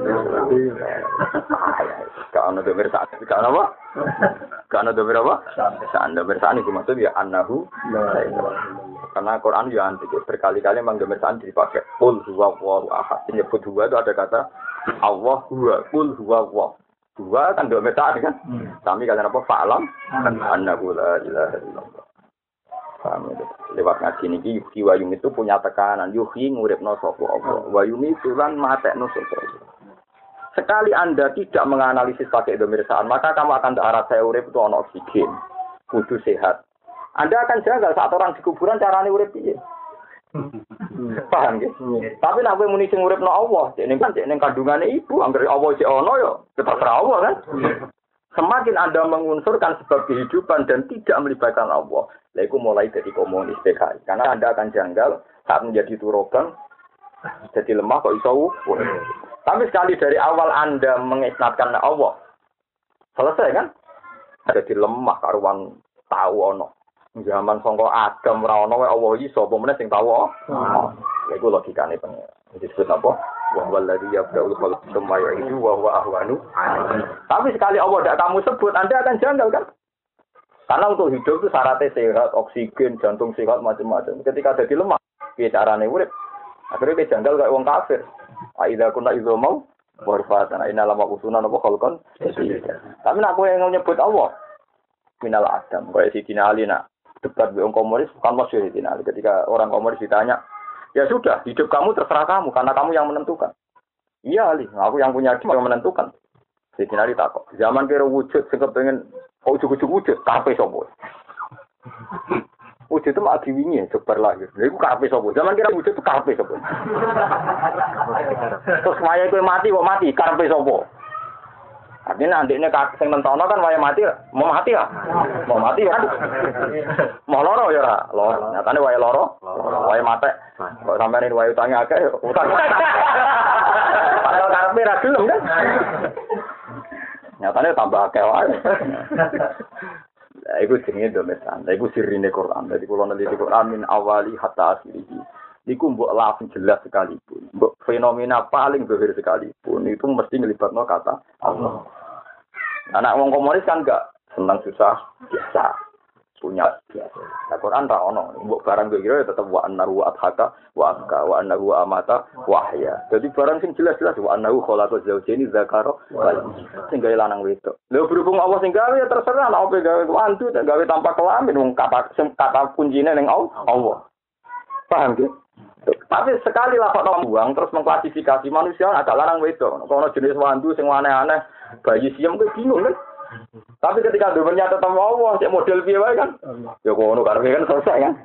Ka ono domir sak, ka ono apa? Ka ono domir apa? Sanda bersani ku maksud ya annahu karena Quran ya antik berkali-kali menggambarkan dipakai qul huwallahu ahad. Menyebut huwa itu ada kata Allah huwa, qul huwallahu. Huwa kan domir tadi kan. Kami kalian apa fa'lam annahu la ilaha illallah. Paham itu. Lewat ngaji niki yuhi wa yum itu punya tekanan yuhi nguripno sapa Allah. Wa yum itu lan matekno sapa Allah. Sekali Anda tidak menganalisis pakai domir saan, maka kamu akan terarah saya urip itu ono oksigen, kudu sehat. Anda akan janggal saat orang di kuburan carane urip piye. Paham nggih? Tapi nek kowe muni sing uripno Allah, nek kan nek kandungane ibu, anggere Allah sik ono ya terserah Allah kan. Semakin Anda mengunsurkan sebab kehidupan dan tidak melibatkan Allah, lha iku mulai dari komunis P K I. Karena Anda akan janggal saat menjadi turogan, jadi lemah kok iso. Tapi sekali dari awal Anda mengisnatkan Allah, selesai kan? Jadi lemah karuan tahu ono. Zaman sangka Adam ora ono wae Allah iki sapa meneh sing tahu. Oh. Ya iku logikane pengen. Disebut apa? Wa wallazi yabda'ul khalq tsumma yu'idu wa huwa ahwanu. Tapi sekali Allah tidak kamu sebut, Anda akan janggal kan? Karena untuk hidup itu syaratnya sehat, oksigen, jantung sehat macam-macam. Ketika jadi lemah, piye carane urip? Akhirnya dia janggal kayak wong kafir. Aidza kunna idza mau warfatan inna lama usunan apa khalqan. Tapi nek kowe nyebut Allah minal Adam, kayak Sidina Ali nak debat dengan komunis bukan masyhur Sidina Ali. Ketika orang komunis ditanya, ya sudah, hidup kamu terserah kamu karena kamu yang menentukan. Iya Ali, aku yang punya hidup yang menentukan. Sidina Ali takut. Zaman kira wujud, sing pengen kok ujug-ujug wujud, kape sapa? Wujud itu mah diwingi sebar lahir. Lha iku kape sapa? Zaman kira wujud itu kape sapa? Terus wayahe kowe mati kok mati, kape sapa? Artinya andekne sing nentono kan waya mati, mau mati ya? Mau mati kan? Mau loro ya ora? Loro. Nyatane waya loro, waya mate. Kok sampeyan waya utange akeh, utang. Padahal karepe ra gelem kan? Nyatane tambah akeh wae. Lah iku jenenge dometan. Lah iku sirine Quran. Dadi kula neliti Quran min awali hatta akhirih. Iku mbok lafaz jelas sekalipun. Mbok fenomena paling zahir sekalipun itu mesti ngelibatno kata Allah. Anak wong komunis kan enggak senang susah biasa. Punya biasa. Nah, Quran ra ono. Mbok barang kira tetep wa annahu adhaka wa aska wa annahu amata wa ahya. Jadi barang sing jelas-jelas wa annahu khalaqa zawjaini dzakara wal unsa. Sing gawe lanang wedok. Lha berhubung Allah sing gawe ya terserah nek opo gawe wantu tak gawe tanpa kelamin wong kata sing kata kuncine ning Allah. Paham ge? Tapi sekali lafaz buang terus mengklasifikasi manusia ada lanang wedok. Kalau jenis wantu sing aneh-aneh bayi siam ke bingung kan? Tapi ketika domennya tetap Allah, cek model piye wae kan? Ya ngono karepe kan selesai kan.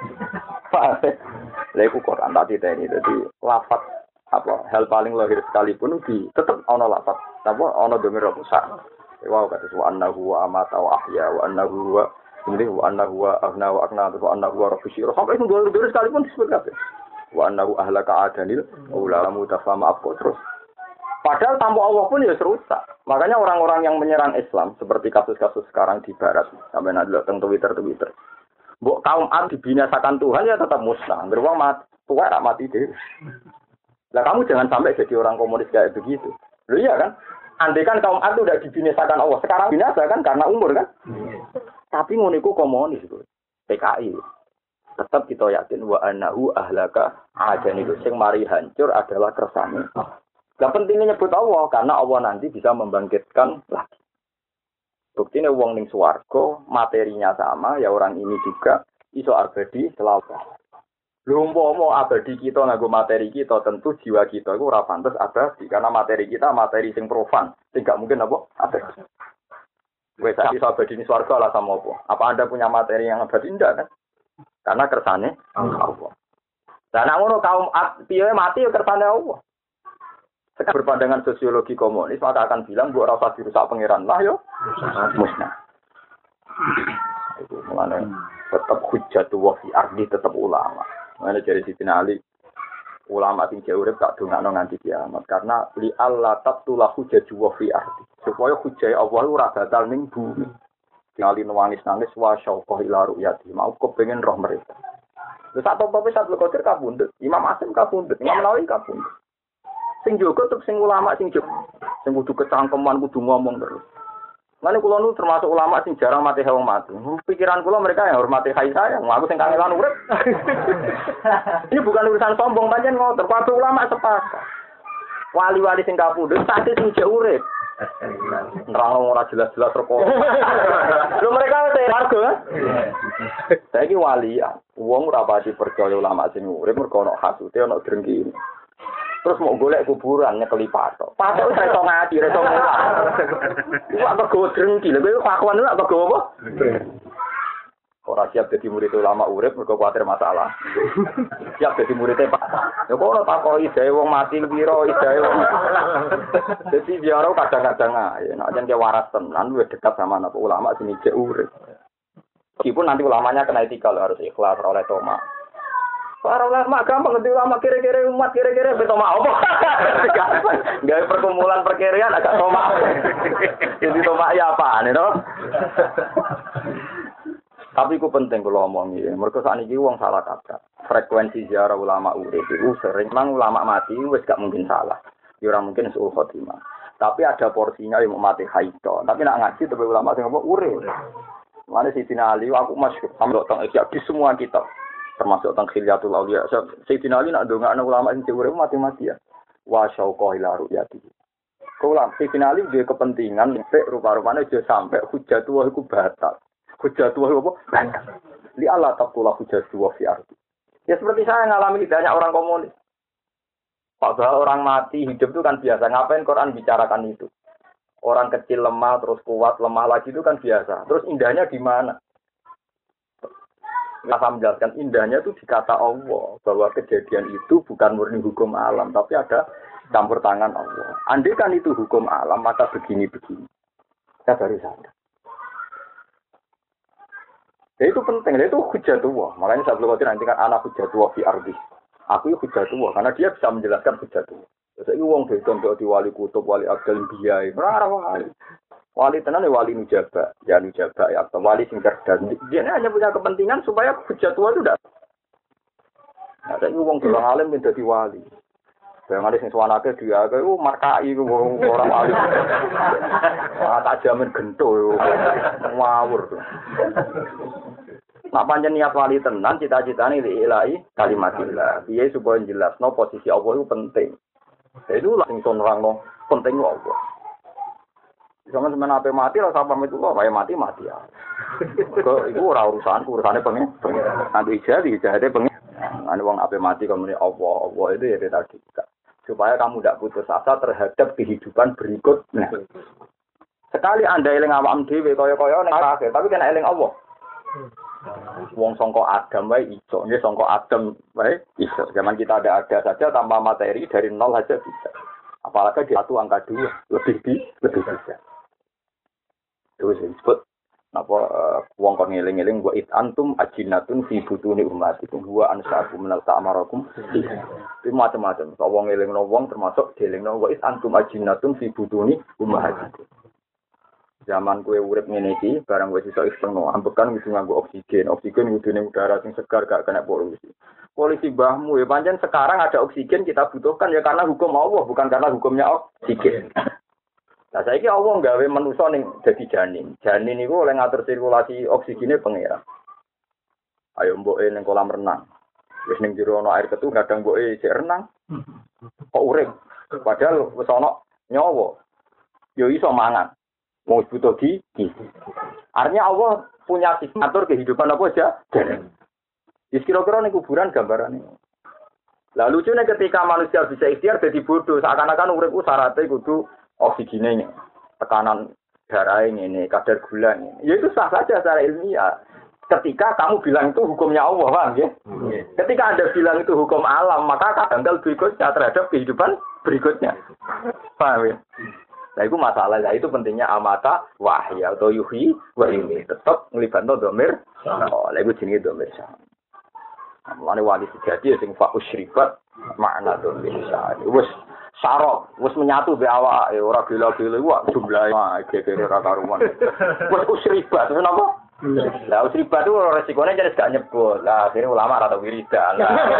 Pak. Lha iku Quran tadi tadi dadi lafaz apa hal paling lahir sekalipun di tetep ana lafaz. Apa ana domir besar. Wa kata wa annahu wa amata wa ahya wa annahu wa ini wa annahu wa aghna wa aghna wa annahu wa rafisyir. Sampai itu domir sekalipun disebut kabeh. Wa annahu ahlaka adanil ulama tafama apa terus. Padahal tanpa Allah pun ya serusak. Makanya orang-orang yang menyerang Islam seperti kasus-kasus sekarang di Barat, sampai nanti lihat tentang Twitter-Twitter. Mbok kaum Ad dibinasakan Tuhan ya tetap musnah. Beruang mati, tua tak mati deh. Nah kamu jangan sampai jadi orang komunis kayak begitu. Loh iya kan? Andai kan kaum Ad udah dibinasakan Allah, sekarang binasa kan karena umur kan? Tapi ngoniku komunis itu, P K I. Tetap kita yakin wa annahu ahlaka adan itu sing mari hancur adalah kersane. Gak pentingnya nyebut Allah karena Allah nanti bisa membangkitkan lagi. Buktinya wong ning swarga materinya sama ya orang ini juga iso abadi selalu. Lho umpama abadi kita nganggo materi kita tentu jiwa kita iku ora pantes abadi karena materi kita materi sing profan, sing gak mungkin apa abadi. Wes iso abadi ning swarga lah sama apa? Apa Anda punya materi yang abadi ndak kan? Karena kersane Allah. Dan ngono kaum piye mati ya kersane Allah. Sekarang berpandangan sosiologi komunis maka akan bilang buat rasa dirusak pangeran lah yo musnah. Itu mengenai tetap hujjatullah fi ardi tetap ulama. Mengenai dari Siti Ali ulama sing jauh urip tak dongakno nganti kiamat karena li Allah tabtulah hujjatullah fi ardi supaya hujjah Allah ora batal ning bumi. Ngali nangis-nangis wa syauqah ila ru'yati mau kepengin roh mereka. Wis sak tope sak lekotir kabundut, Imam Asim kabundut, Imam Nawawi kabundut. Sing jogo tetep sing ulama sing jogo. Sing kudu kecangkeman kudu ngomong terus. Mane kula nu termasuk ulama sing jarang mati wong mati. Pikiran kula mereka yang hormati hai saya, aku sing kangelan urip. Ini bukan urusan sombong pancen ngoten, kabeh ulama sepakat. Wali-wali sing kapundhut sate sing jek urip. Nerang ora jelas-jelas rokok. Lho mereka wis warga. Saiki wali, wong ora pati percaya ulama sing urip mergo ana hasute ana drengki. Terus mau golek kuburan nyekeli patok. Patok wis iso ngaji, iso mulang. Iku apa go drengki, lha kowe fakwan apa go apa? Ora siap dadi murid ulama urip mergo kuwatir masalah. Siap dadi muridé Pak. Ya kok ora takoki jae wong mati piro, jae wong. Dadi biar kadang-kadang ae nek jan ke waras tenan luwih dekat sama anak ulama sing cek urip. Meskipun nanti ulamanya kena etika harus ikhlas oleh Toma. Para ulama gampang ngerti ulama kira-kira umat kira-kira beto mau apa? Gawe perkumpulan perkirian agak Toma. Jadi Toma ya apa nih toh? Tapi itu penting kalau omongi. Mereka saat ini wong salah kata. Frekuensi ziarah ulama urip itu sering mang ulama mati wis gak mungkin salah. Ya ora mungkin suul khotimah. Tapi ada porsinya yang mau mati haito. Tapi nak ngaji tapi ulama sing ngomong urip. Mana Sayyidina Ali aku masyhur sampe teng di semua kitab. Termasuk tentang khilyatul auliya. Sayyidina Ali nak ndongakno ulama sing urip mati-mati ya. Wa syauqa ila ru'yati. Kula Sayyidina Ali duwe kepentingan nek rupa-rupane aja sampai hujjatu wa iku batal. Hujjatu wa apa? Batal. Li Allah taqula hujjatu wa fi ardi. Ya seperti saya ngalami banyak orang komunis. Padahal orang mati hidup itu kan biasa. Ngapain Quran bicarakan itu? Orang kecil lemah terus kuat lemah lagi itu kan biasa. Terus indahnya di mana? Saya menjelaskan indahnya itu di kata Allah bahwa kejadian itu bukan murni hukum alam tapi ada campur tangan Allah. Andai kan itu hukum alam maka begini-begini. Saya baru sadar. Ya itu penting, itu hujjatullah. Makanya saya belum nanti kan anak hujjatullah fi ardi. Aku itu hujjatullah karena dia bisa menjelaskan hujjatullah. Terus ini wong dedon di wali kutub, wali abdal biyai, berapa kali. Wali tenan ya wali nujaba, ya nujaba ya atau wali sing cerdas. Dia hanya punya kepentingan supaya hujat tua itu tidak. Nah, saya ngomong ke orang alim menjadi wali. Yang ada sing suwanake dia ke oh markai orang wali. Ah tak jamin gento ngawur. Nak pancen niat wali tenan cita-citane ilahi kalimatillah. Piye supaya jelasno posisi Allah itu penting. Itu lah sing nerangno penting Allah. Jangan semen ape mati lah sampai itu kok kayak mati mati ya. Kok itu ora urusan urusane pengen. Nanti jadi jadi pengen. Ane wong ape mati kemudian Allah Allah itu ya tadi. Supaya kamu tidak putus asa terhadap kehidupan berikutnya. Sekali Anda eling awam dhewe kaya-kaya ning akhir, tapi kena eling Allah. Wong sangka Adam wae iso, nggih sangka Adam wae iso. Zaman kita ada-ada saja tanpa materi dari nol saja bisa. Apalagi di satu angka dua lebih di lebih bisa. Terus disebut apa uh, wong kon ngeling-eling wa it antum ajinatun fi butuni ummatikum wa ansaakum minal ta'marakum. Itu macam-macam. Kok wong ngelingno wong termasuk dielingno wa it antum ajinatun fi butuni ummatikum. Zaman kue urip ngene iki, barang wis iso eksterno, ambekan kudu nganggo oksigen. Oksigen kudune udara sing segar gak kena polusi. Polisi mbahmu ya pancen sekarang ada oksigen kita butuhkan ya karena hukum Allah, bukan karena hukumnya oksigen. Nah saiki Allah nggawe manusa ning dadi janin. Janin iku oleh ngatur sirkulasi oksigene pangeran. Ayo mboke ning kolam renang. Wis ning jero ana air ketu kadang mboke sik renang. Kok urip? Padahal wis ana nyawa. Yo iso mangan. Mau butuh gigi. Artinya Allah punya sifat atur kehidupan apa aja. Jadi kira-kira ini kuburan gambaran ini. Lah lucunya ketika manusia bisa ikhtiar jadi bodoh. Seakan-akan urip syaratnya kudu oksigennya. Tekanan darah ini, kadar gula ini. Ya itu sah saja secara ilmiah. Ketika kamu bilang itu hukumnya Allah, paham ya? Ketika Anda bilang itu hukum alam, maka akan tanggal berikutnya terhadap kehidupan berikutnya. Paham ya? Nah itu masalah, nah itu pentingnya amata wahya atau yuhi wahimi tetap ngelibatkan domir. Oh, lah itu jenis domir sah. Mulane wali sejati sing fa usribat makna domir sah. Wes sarok, wes menyatu be awak, ora gila-gila wah jumlahe gegere ra karuan. Wes usribat, kenapa? Lah usribat itu resikonya jadi gak nyebut. Lah akhirnya ulama rata wiridan.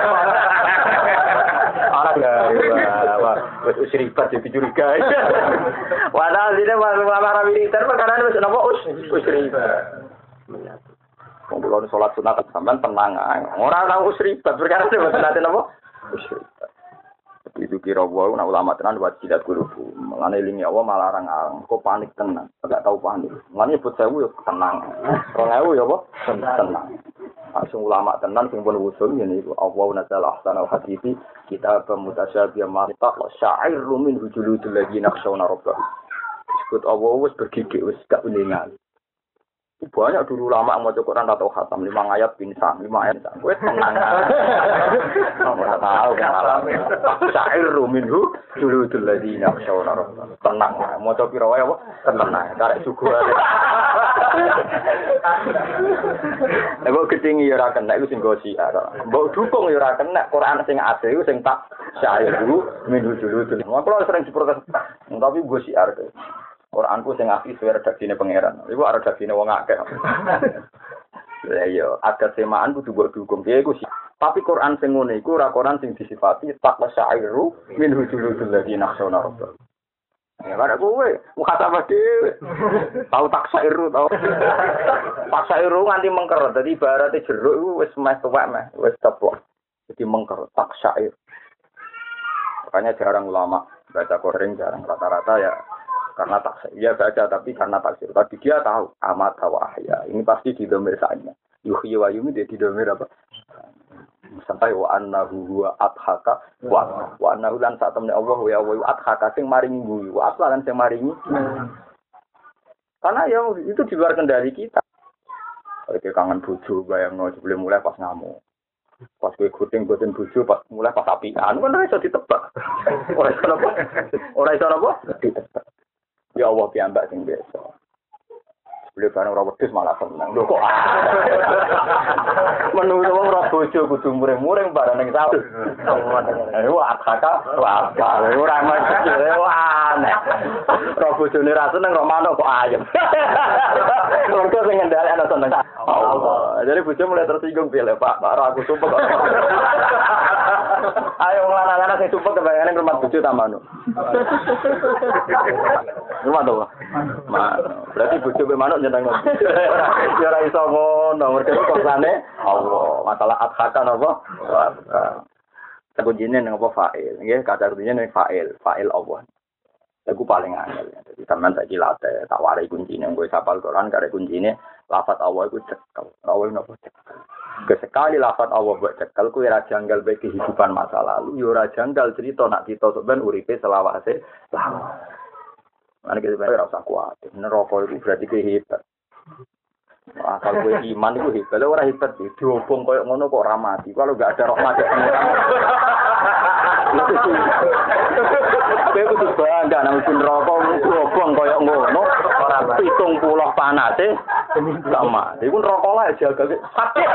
Anak ya, wah, wes usribat jadi curiga. Padahal sini ulama rata wiridan perkara wes napa us usribat. Kumpulon salat sunat sampean tenang ae. Ora ana usribat perkara wes sunat napa? Usribat. Itu kira wae nek ulama tenan wajibat kurubu. Mengane lingi Allah malah larang kok panik tenan. Enggak tahu panik. Mengane nyebut sewu yo tenang. dua ribu ya apa? Tenang. Langsung ulama tenan sing pun usul ngene iku Allah nazala ahsanal hadisi kita pemutasyabih marita wa sya'irun min hujuludil ladina khshawna rabbah. Disebut Allah wis bergigit wis gak uningan. Banyak dulu lama mau Quran atau khatam lima ayat pinsang lima ayat gue tenang nggak tahu kan syair minhu dulu dulu lagi nak saudara tenang mau coba pirawai apa tenang karek suku nego ketinggi ya rakan nego sing gosi ada bau dukung ya rakan nek Quran sing asli itu sing tak syair dulu minhu dulu dulu mau kalau sering diprotes tapi gosi ada Quranku sing asli suwe redaksine pangeran. Iku redaksine wong akeh. Lah iya, ada semaan kudu mbok dukung. Piye iku sih? Tapi Quran sing ngene iku ora Quran sing disifati taqwa syairu min hujulul ladina khshawna rabbah. Ya kada kowe, mukhasabah dhewe. Tahu tak syairu tau. Tak syairu nganti mengker. Dadi ibarate jeruk iku wis meh tuwek meh, wis teplok. Jadi mengker tak syair. Makanya jarang ulama baca Quran jarang rata-rata ya karena taksir, dia baca tapi karena taksir. Tapi dia tahu amat wahya. Ini pasti di domir saatnya. Yuhyi wa yumi dia di domir apa? Sampai wa annahu huwa adhaka wa wa annahu lan saat temen Allah wa wa adhaka sing maringi guyu. Wa aslan sing maringi. Karena ya itu di luar kendali kita. Kayak kangen bojo bayangno sebelum mulai pas ngamuk. Pas gue kuting boten bojo pas mulai pas apian kan ora iso ditebak. Ora iso apa? Ora iso apa? Ditebak. Ya Allah piyambak sing biasa. Beli barang ora wedhus malah seneng. Lho kok menurut wong ora bojo kudu muring-muring barang ning sawah. Wah, kakak, wah, kalau ora macet, wah, aneh. Ora bojone ra seneng ora manuk kok ayem. Mergo sing ngendhalek ana seneng. Allah. Jadi bojo mulai tersinggung piye, Pak? Pak, aku sumpah kok. Ayo wong lanang-lanang sing sumpah kebayangane rumah bojo ta manuk. Rumah to, Pak? Berarti bojo pe manuk nyeneng. Ya ora iso ngono, mergo korsane Allah. Masalah adhakan apa? Kuncinya nang apa fa'il. Nggih, kata kuncinya nang fa'il, fa'il Allah. Iku paling angel. Jadi sampean saiki late tak warai kuncine nggo sapal Quran kare kuncine lafaz Allah iku cekel. Allah napa cekel. Kesekali lafaz Allah buat cekel kuwi ora janggal bae kehidupan masa lalu, ya ora janggal cerita nak kita sampean uripe selawase lama. Ana kita ora usah kuat. Neraka iku berarti kehebat. Asal gue iman itu hebat, kalau orang hebat sih, diobong koyok ngono kok ramati. Kalau nggak ada rahmat ya pengiran. Gue kudu bangga, namun pun rokok diobong koyok ngono, hitung pulau panas sih, sama. Dia pun rokok lah jaga sakit.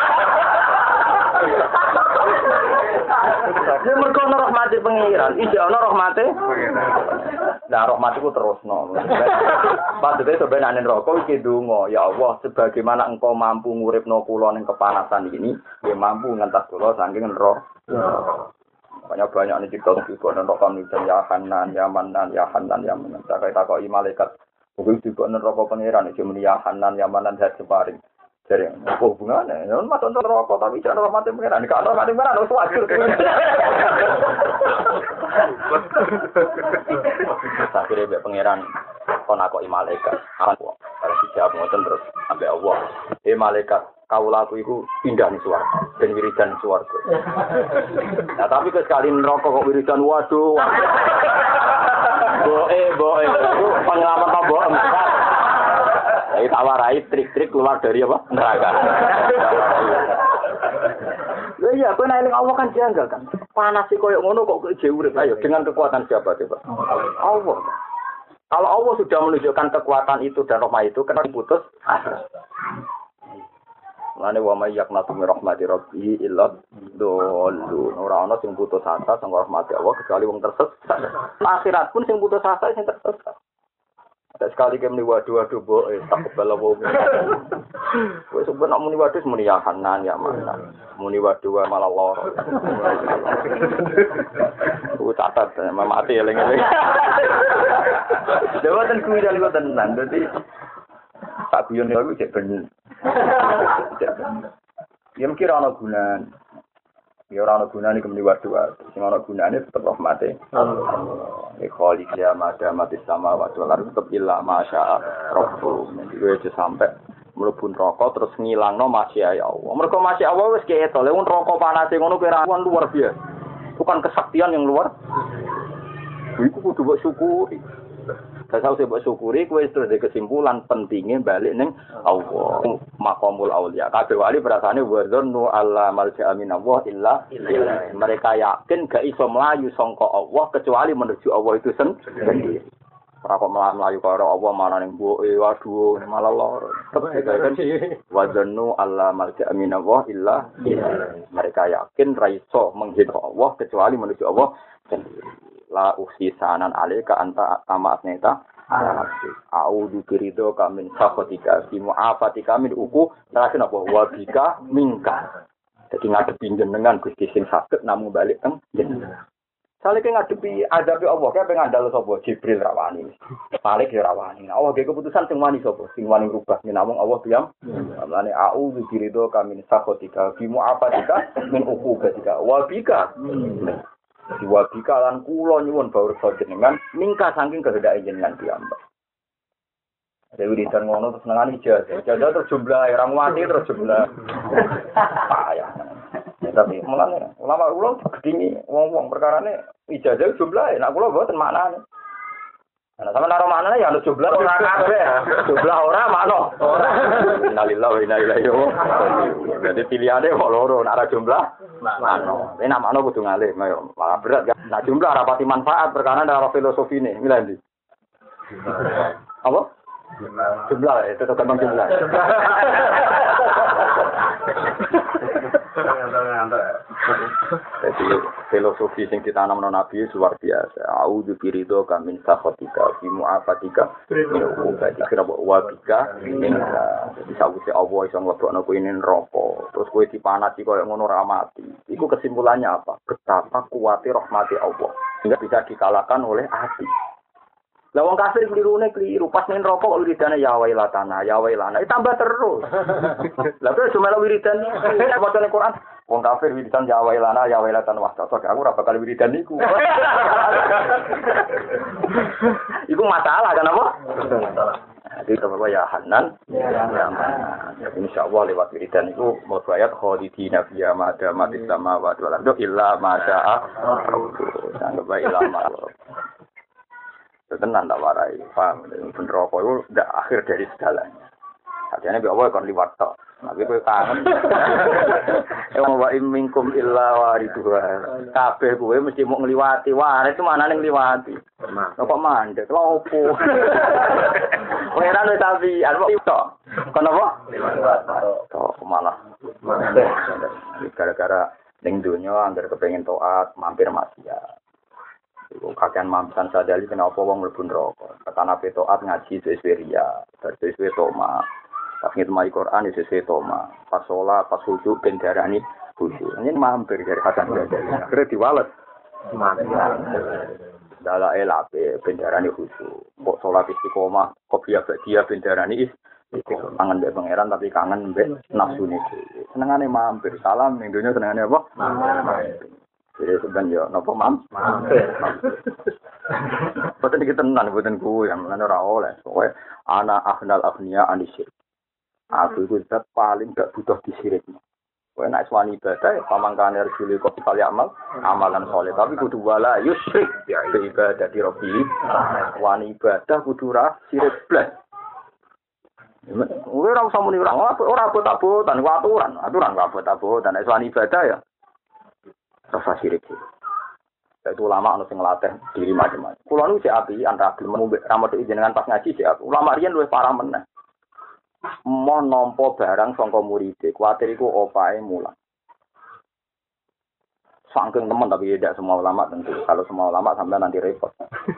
Dia mereka ada rahmati pengiran, ijak ada rahmati. Nah, rahmat itu terus no. Padahal sebenarnya rokok iki donga, ya Allah, sebagaimana engkau mampu nguripno kula ning kepanasan ini, ya mampu ngentas kula saking neraka. Banyak banyak nih cerita juga neraka niku ya Hanan, ya Manan, ya Hanan, ya Manan. Tak takoki malaikat, kuwi juga neraka pangeran iki muni ya Hanan, ya Manan dat separing. Jadi, apa hubungannya? Ya, masuk neraka tapi jangan rahmat pangeran. Kalau rahmat pangeran harus wajar. Akhirnya be pangeran kon aku malaikat. Aku kalau dijawab ngoten terus sampai Allah. Eh malaikat, kaulaku iku pindah ning swarga, ben wiridan swarga. Nah, tapi sekali neraka kok wiridan waduh. Boe boe itu pengalaman apa boe. Jadi tak warai trik-trik keluar dari apa? Neraka. Ya iya, kowe nek Allah kan janggal kan. Panas sih koyo ngono kok jauh urip. Ayo dengan kekuatan siapa coba? Allah. Kalau Allah sudah menunjukkan kekuatan itu dan rahmat itu, kenapa diputus? Lane wa may yaqnatu min rahmati rabbih illa dhalun. Ora ana sing putus asa sing rahmati Allah kecuali wong tersesat. Akhirat pun sing putus asa sing tersesat. Ada sekali ke muni waduh-waduh boe tak kebal apa. Wis sampe nak muni waduh muni ya Hanan ya Manan. Muni waduh malah loro. Ku catat mati eling-eling. Dewaten kuwi dalem tenan. Dadi tak guyon iku cek ben. Ya mungkin ana gunane. Ya ora ana gunane kemeni waduh. Sing ana gunane tetep rahmate. Ya khaliq ya mada mati sama waduh lan tetep illa masya Rabbul. Iki wis sampai mlebu neraka terus ngilangno masya Allah. Mergo masya Allah wis keto. Lha neraka panase ngono kira luar biasa. Bukan kesaktian yang luar. Iku kudu mbok syukuri. Kasau sebab syukuri kowe terus ada kesimpulan pentingnya balik ning Allah. Maqamul auliya. Kabeh wali perasane wa dzannu alla malja'a min Allah illa ilaihi. Mereka yakin gak iso mlayu sangka Allah kecuali menuju Allah itu sendiri. Ora kok mlayu karo Allah mana ning mboke waduh malah loro. Kan wa dzannu alla malja'a min Allah illa ilaihi. Mereka yakin ra iso menghina Allah kecuali menuju Allah sendiri. La usisanan alaika anta tamat neta a'udzu birido kamin safatika fi mu'afatika min uku terakhir apa wa bika minka. Jadi ngadepi jenengan Gusti sing saged namung balik teng jenengan. Saleh ngadepi azabe Allah kae ngandal sapa Jibril rawani. Malik ya rawani. Allah ge keputusan sing wani sapa sing wani rubah namung Allah diam. Mulane a'udzu birido kamin safatika fi mu'afatika min uku ketika wa bika diwabika lan kula nyuwun bawur jenengan mingka saking kehendake jenengan piyambak. Dewi disan ngono terus nangani ijazah. Ijazah terus jumlah orang mati terus jumlah. Payah. Ya tapi mulane ulama ulama gedingi wong-wong perkarane ijazah jumlah nek kula mboten maknane. Nah, sama naro maknane ya jumlah ora kabeh. Jumlah ora makno. Ora. Innalillahi wa inna ilaihi raji'un. Jadi pilihane kok loro nek ora jumlah makno. Nek makno kudu ngalih, malah berat kan. Nah jumlah rapati manfaat perkara ora filosofine. Milih ndi? Apa? Jumlah itu tergantung jumlah. Jadi filosofi sing ditanam non Nabi luar biasa. A'udzu biridho min sakhatika fi mu'afatika min uqubatika wa bika minka. Jadi sawise Allah iso nglebokno kowe ning neraka, terus kowe dipanati koyo ngono ra mati. Iku kesimpulannya apa? Betapa kuatnya rahmati Allah. Enggak bisa dikalahkan oleh hati. Lah wong kafir klirune kliru, pas ning neraka kok wiridane ya wailatana, ya wailana, tambah terus. Lah terus cuma wiridan iki macane Quran. Wong kafir wiridan ya wailana, ya wailatan wastata, aku ora bakal wiridan niku. Iku masalah kan apa? Masalah. Jadi apa ya Hanan, ya Hanan. Insyaallah lewat wiridan itu mau ayat khalidina fiha ma damat samawati wal ardu illa ma syaa rabbuh. Sanggep illa ma tenan tak warai, paham? Bener apa itu tidak akhir dari segalanya. Artinya biar Allah kan liwat tok. Tapi kowe kangen. Ewa wa imminkum illa waridhuha. Kabeh kowe mesti mau ngliwati. Wah, itu mana ning ngliwati? Kok mandek? Lha opo? Kowe ora wis tapi arep tok. Kono apa? Liwat tok malah. Gara-gara ning donya anggar kepengin taat, mampir maksiat. Kakean mampan sadali kenapa wong mlebu neraka. Katana petoat ngaji sesuai ria, sesuai toma. Pas ngitmai Quran sesuai toma. Pas sholat, pas khusyuk ben darani khusyuk. Ini mampir dari Hasan Sadali. Akhire diwales. Dala elape ben darani khusyuk. Kok sholat istiqomah, kok biasa dia ben darani is kangen mbek pangeran tapi kangen mbek nafsune dhewe. Senengane mampir. Salam ning donya senengane apa? Mampir. Jadi sebenarnya, nopo mam? Betul kita tenan, betul ku yang mana orang oleh. Soalnya anak akhnal akhnia anisir. Aku itu zat paling gak butuh disiriknya. Soalnya naik suami ibadah, ya pamangkane resuli kopi kali amal, amalan soleh. Tapi kudu wala yusrik beribadah di Robi. Wani ibadah kudu rah sirik blas. Orang usah muni orang, orang abot-abotan, aturan, aturan abot-abotan. Naik suami ibadah ya. Rasa sirik sih. Itu ulama anu sing nglatih diri macam-macam. Kulo nu sik api antara gelem ngombe ramet jenengan pas ngaji sik aku. Ulama riyen luwih parah meneh. Mau nampa barang sangka murid, kuwatir iku opae mulang. Saking temen tapi tidak semua ulama tentu. Kalau semua ulama sampai nanti repot.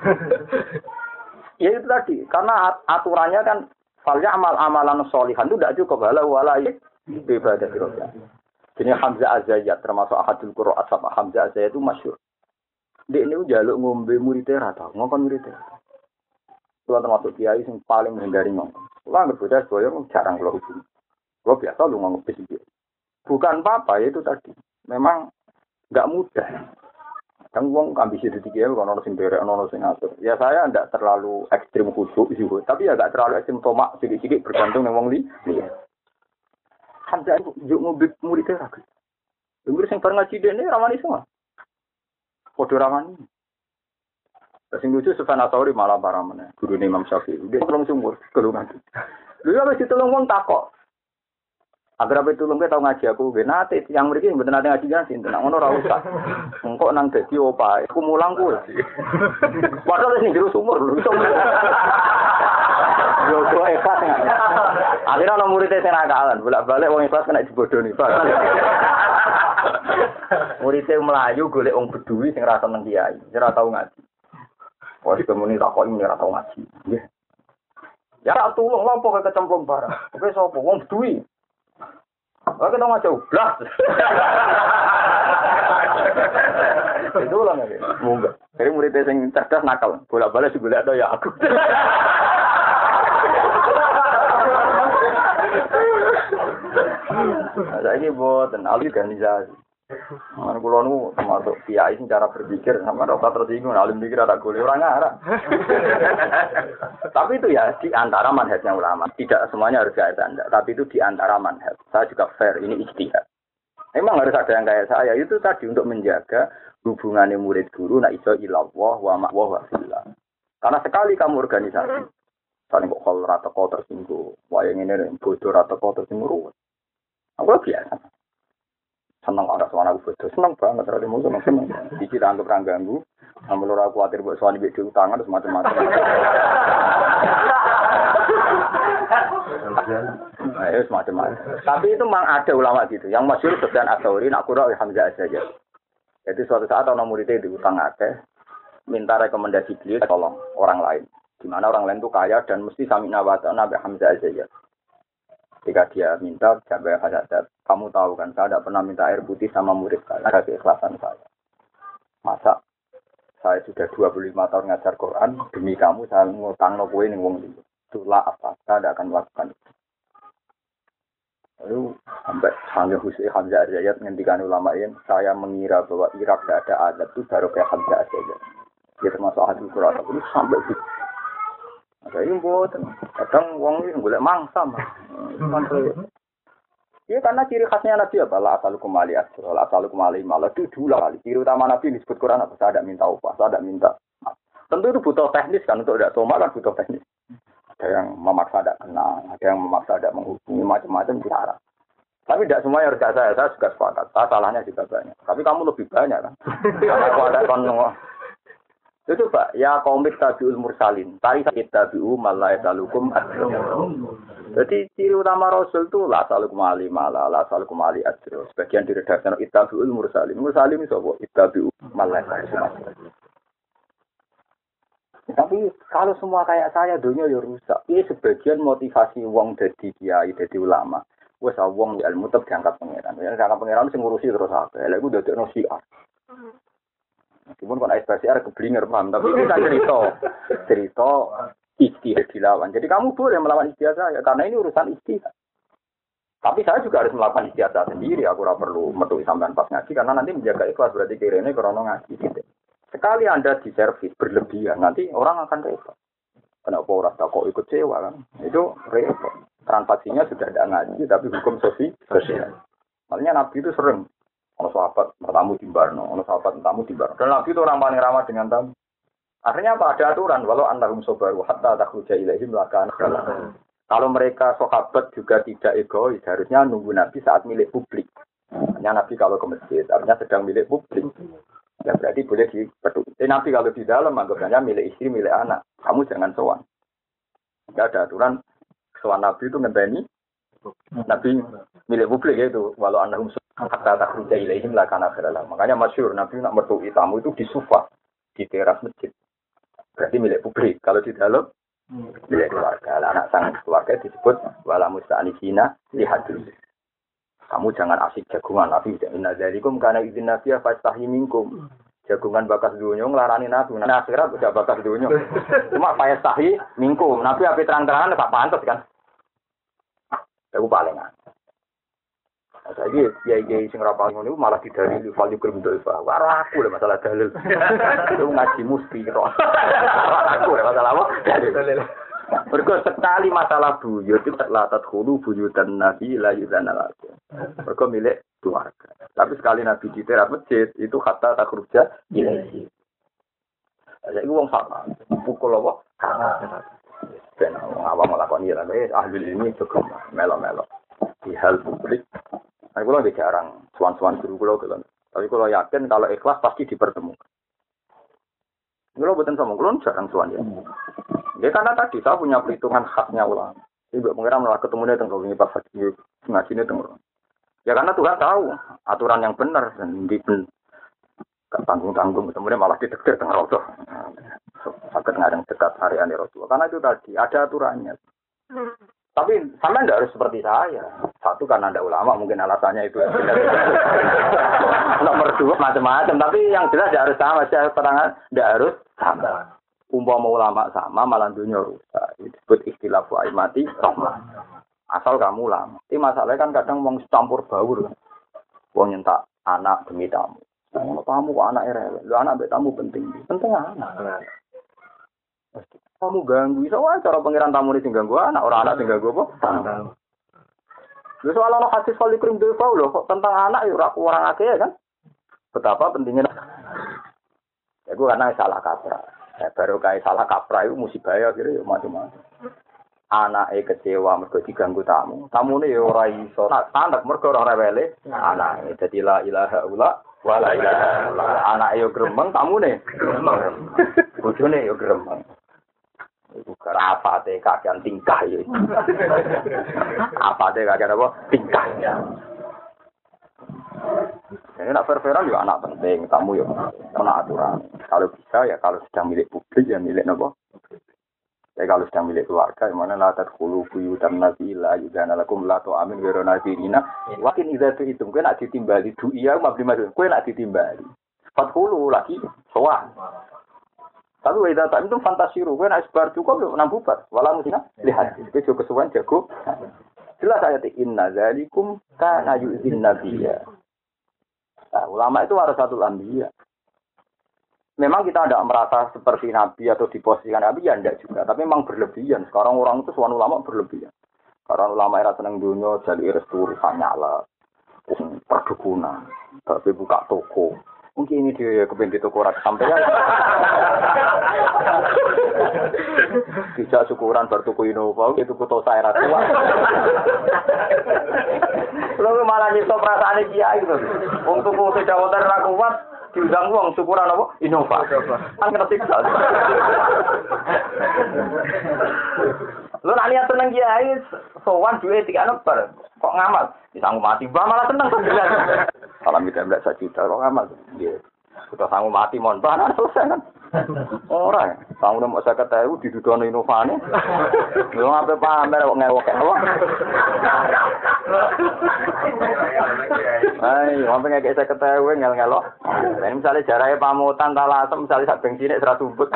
Ya itu tadi, karena aturannya kan falya amal amalan sholihan itu tidak cukup wala wala ibadah dirobah. Jadi Hamzah Az-Zayyat termasuk ahadul qurra asab Hamzah Az-Zayyat itu masyhur. Dek ini njaluk ngombe muridé ra tau, ngomong muridé. Kulo termasuk kiai sing paling menghindari ngomong. Kulo anggere bocah boyo jarang kulo hubungi. Kulo biasa lu ngomong bis iki. Bukan apa-apa itu tadi. Memang enggak mudah. Kan wong ambisi dadi kiai kok ono sing derek ono sing ngatur. Ya saya enggak terlalu ekstrim khusyuk juga, tapi ya enggak terlalu ekstrim tomak sedikit-sedikit bergantung nang wong li. Hamzah itu juk ngombe muridé ra. Dengar sing bar ngaji dene ramani semua. Padha ramani. Sing lucu Sufyan Ats-Tsauri malah parah meneh. Gurune Imam Syafi'i. Dia tolong sumur kelungan. Lha ya wis ditolong wong takok. Agar apa tulung ke tau ngaji aku nggih nate yang mriki mboten nate ngaji kan sinten. Ngono ora usah. Engko nang dadi opae aku mulang ku. Padahal sing jero sumur lho. Yo kok ikhlas nggak? Akhirnya orang muridnya saya nakalan, bolak-balik wong ikhlas kena dibodohi. Muridnya melayu golek wong bedui sing ra seneng kiai, ora tau ngaji. Wis kemuni takoki ora tau ngaji. Nggih. Ya tak tulung lha apa kecemplung barang. Oke sapa wong bedui. Oke dong ngaji blas. Itu lah nggih. Monggo. Jadi muridnya sing cerdas nakal, bolak-balik digolek ada ya aku. Saya ini buat organisasi. Mana kulo nu termasuk kiai sing cara berpikir sama rasa tersinggung, alim pikir ada golek orang arah. Tapi itu ya di antara manhajnya ulama. Tidak semuanya harus kayak Anda, tapi itu di antara manhaj. Saya juga fair, ini ijtihad. Memang harus ada yang kayak saya. Itu tadi untuk menjaga hubungannya murid guru na iso ilallah wa ma'wa wa fillah. Karena sekali kamu organisasi, saling kok kalau rata kau tersinggung, wayang ini bodoh rata kau tersinggung. Aku biasa. Senang ada suara aku bodoh, senang banget. Terus mau senang senang. Dikit anggap orang ganggu, namun orang khawatir buat suami beda utangan terus macam-macam. Nah, ya semacam Tapi itu memang ada ulama gitu. Yang masyhur Sufyan Ats-Tsauri nak qura Hamzah saja. Jadi suatu saat ana muridnya diutang akeh, minta rekomendasi beliau tolong orang lain. Di mana orang lain itu kaya dan mesti samina wa ta'na bi Hamzah saja. Ketika dia minta, sampai Haddad, kamu tahu kan, saya tidak pernah minta air putih sama murid saya, ada keikhlasan saya. Masa saya sudah dua puluh lima tahun ngajar Quran, demi kamu saya ngutang no kue ning wong liya. Itulah apa, saya tidak akan melakukan itu. Lalu sampai Hamzah Hussein Hamzah Azayat ngendikan ulama ini, saya mengira bahwa Irak tidak ada adat itu baru kayak Hamzah Azayat. Dia termasuk ahli Quran, tapi sampai itu. Ada yang buat, kadang wong ini boleh mangsa mah. Iya karena ciri khasnya Nabi apa? La asalukum ali asro, la asalukum ali malah itu dulu kali. Ciri utama Nabi disebut Quran apa? Saya tidak minta upah, saya tidak minta. Tentu itu butuh teknis kan, untuk tidak soma kan butuh teknis. Ada yang memaksa tidak kenal, ada yang memaksa tidak menghubungi, macam-macam cara. Tapi tidak semuanya harus saya, saya juga sepakat. Saya salahnya juga banyak. Tapi kamu lebih banyak kan? Karena aku ada kan itu Pak, ya komit tabiul mursalin. Tari tabiu malai salukum adro. Jadi ciri utama Rasul itu la salukum ali mala, la salukum ali adro. Sebagian diredaksikan tabiul mursalin. Mursalin itu apa? Tabiu malai salukum. Tapi kalau semua kayak saya, dunia ya rusak. Ini sebagian motivasi wong dadi kiai, dadi ulama. Wes wong di ilmu tetap diangkat pangeran. Ya diangkat pangeran sing ngurusi terus apa? Lha iku dadekno siar. Meskipun kon ekspresi arek keblinger paham, tapi itu kan cerita. Cerita ijtihad dilawan. Jadi kamu boleh melawan ijtihad saya karena ini urusan ijtihad. Tapi saya juga harus melakukan ijtihad saya sendiri. Aku ora perlu metu sampean pas ngaji karena nanti menjaga ikhlas berarti kirene krana ngaji gitu. Sekali Anda diservis berlebihan, nanti orang akan repot. Kenapa orang tak kok ikut sewa kan? Itu repot. Transaksinya sudah tidak ngaji, tapi hukum sosial. Makanya Nabi itu sering. Ono sahabat bertamu di Barno, ono sahabat tamu di Barno. Dan Nabi itu orang paling ramah dengan tamu. Akhirnya apa? Ada aturan. Walau antahum sobaru hatta takhruja ilaihim lakan. Kalau mereka sahabat juga tidak egois, harusnya nunggu Nabi saat milik publik. Hanya Nabi kalau ke masjid, artinya sedang milik publik. Ya berarti boleh dipeduk. Eh, Nabi kalau di dalam anggapnya milik istri, milik anak. Kamu jangan sowan. Tidak ada aturan sowan Nabi itu ngenteni. Nabi milik publik itu. Walau annahum hatta takhruja ilaihim lakana khairan. Makanya masyhur Nabi nak mertui tamu itu di sofa di teras masjid. Berarti milik publik. Kalau di dalam milik keluarga. Anak sang keluarga disebut wala musta'anisina lihadil. Kamu jangan asik jagungan Nabi. Inna dzalikum kana idzin nabiya fastahi minkum. Jagungan bakas dunya nglarani Nabi. Nah, akhirat udah bakas dunya. Cuma fastahi minkum. Nabi ape terang-terangan gak pantes kan. Aku palingan. Saiki kiai-kiai sing ra paling ngono malah didalil fal yukrim doifa. Ora aku lho masalah dalil. Itu ngaji musti kok. Aku lho masalah apa? Dalil. Mergo sekali masalah buyut itu la tadkhulu buyutan nabi la yuzana lakum. Mergo milik keluarga. Tapi sekali Nabi di teras masjid itu hatta takhruja ilaihi. Saiki wong sama pukul apa? Kana. Ben awam lakoni ya ahli ilmi cukup melo-melo. Di hal publik. Aku kalau jarang suan-suan guru kalau gitu. Tapi kalau yakin kalau ikhlas pasti dipertemukan. Kalau bukan sama kalau jarang suan ya. Ya karena tadi saya punya perhitungan khasnya ulama. Ibu mengira malah ketemunya tengok ini pas lagi ngajinya tengok. Ya karena Tuhan tahu aturan yang benar dan di tanggung-tanggung kemudian malah didektir tengok Rasul. Sakit ngadeng dekat area Rasul. Karena itu tadi ada aturannya. Tapi sama tidak harus seperti saya. Satu karena ada ulama mungkin alasannya itu. Nomor dua macam-macam. Tapi yang jelas tidak harus sama. Saya terangkan tidak harus sama. Umpama ulama sama malah dunia rusak. Itu disebut istilah wa'imati rahmah. Asal kamu ulama. Ini masalahnya kan kadang mau campur baur. Mau nyentak anak demi tamu. Kalau tamu kok anak rewel. Lu anak be tamu penting. Penting anak. Kamu ganggu. So, cara pengiran tamu ini ganggu anak. Orang anak ganggu apa? Tamu. Lu soal anak hadis kali krim defa loh. Kok tentang anak ya orang akeh kan? Betapa pentingnya. Ya gue karena salah kaprah. Ya, baru kayak salah kaprah itu musibah ya kira macam-macam. Anake kecewa mergo diganggu tamu. Tamune ya ora iso. Anak mergo ora rewele. Anake dadi la ilaha illallah wa la ilaha illallah. Anake yo gremeng, tamune gremeng. Bojone yo gremeng. Iku apa teh kagian tingkah ya. Apa teh kagian apa? Tingkah. Ini nak fair-fairan juga anak penting, tamu ya. Karena aturan. Kalau bisa ya kalau sedang milik publik ya milik apa? Ya kalau sedang milik keluarga, mana latat kulu buyu dan nabila juga nalakum lato amin wero nabirina. Wakin itu itu kue nak ditimbali du iya mabdi masuk kue nak ditimbali. Empat kulu lagi soal. Tapi weda tak itu fantasiru kue nak sebar cukup enam bubat. Walau musina lihat itu juga kesuwan jago. Jelas ayat inna zalikum kana yu'zin nabiyya. Nah, ulama itu warasatul anbiya. Memang kita tidak merasa seperti Nabi atau diposisikan Nabi, ya tidak juga. Tapi memang berlebihan. Sekarang orang itu suan ulama berlebihan. Karena ulama era seneng dunia, jadi restu urusan nyala. Perdukunan. Tapi buka toko. Mungkin ini dia kepengen di toko rata sampai ya. Tidak syukuran bertuku Innova, itu kutu saya rata. Lalu malah nyipta perasaan dia itu. Untuk kutu jawatan rakuat. Diundang uang syukuran apa? Innova. Kan kena siksa. Lu nak niat seneng kiai, sowan duwe tiga lembar. Kok ngamal? Disanggup mati, bah malah seneng sebelas. Salam kita belas juta kok ngamal. Nggih. Kita sanggup mati mon, bah selesai kan. Ora, sanggup mau saya ketahui didudono Innovane. Lu ngape pamer kok ngewok apa? Hai, ngapain nggak saya ketahui ngel-ngelok? Ini misalnya jaraknya pamutan, talasem, misalnya sak bensinnya serat sumput.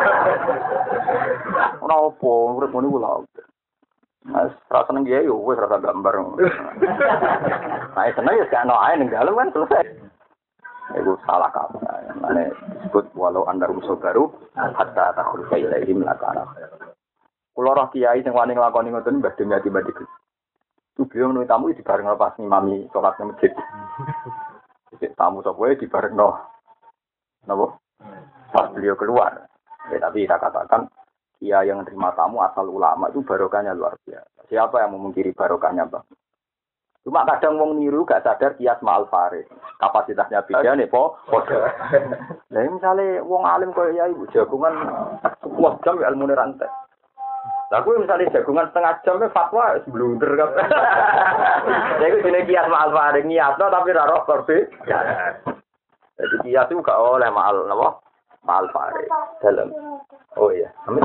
Kenapa? Urut muni ulah. Mas, rasa seneng dia yo, wes rasa gambar. Nah, seneng ya sekarang aja nih dalam kan selesai. Itu salah kamu. Mana sebut walau anda rusuh baru, hatta takhul kailahim lakana. Kulo roh kiai yang wani ngelakoni ngoten mbah demi ati-ati. Itu beliau menurut tamu di bareng lepas ngimami sholatnya masjid. Tamu sebuah di bareng no, nabo. Pas beliau keluar, ya, tapi saya katakan, dia yang terima tamu asal ulama itu barokahnya luar biasa. Siapa yang memungkiri barokahnya bang? Cuma kadang wong niru gak sadar kias ma'al farid. Kapasitasnya beda nih po. Nah misalnya wong alim kaya ya ibu jagungan sebuah jam ya ilmu rantai. Aku misalnya jagungan setengah jam fatwa blunder kan. Jadi jenis kias ma'al farid niatno tapi raro korbe. Jadi kias itu gak oleh ma'al apa? Ma'al farid dalam. Oh iya. Amin.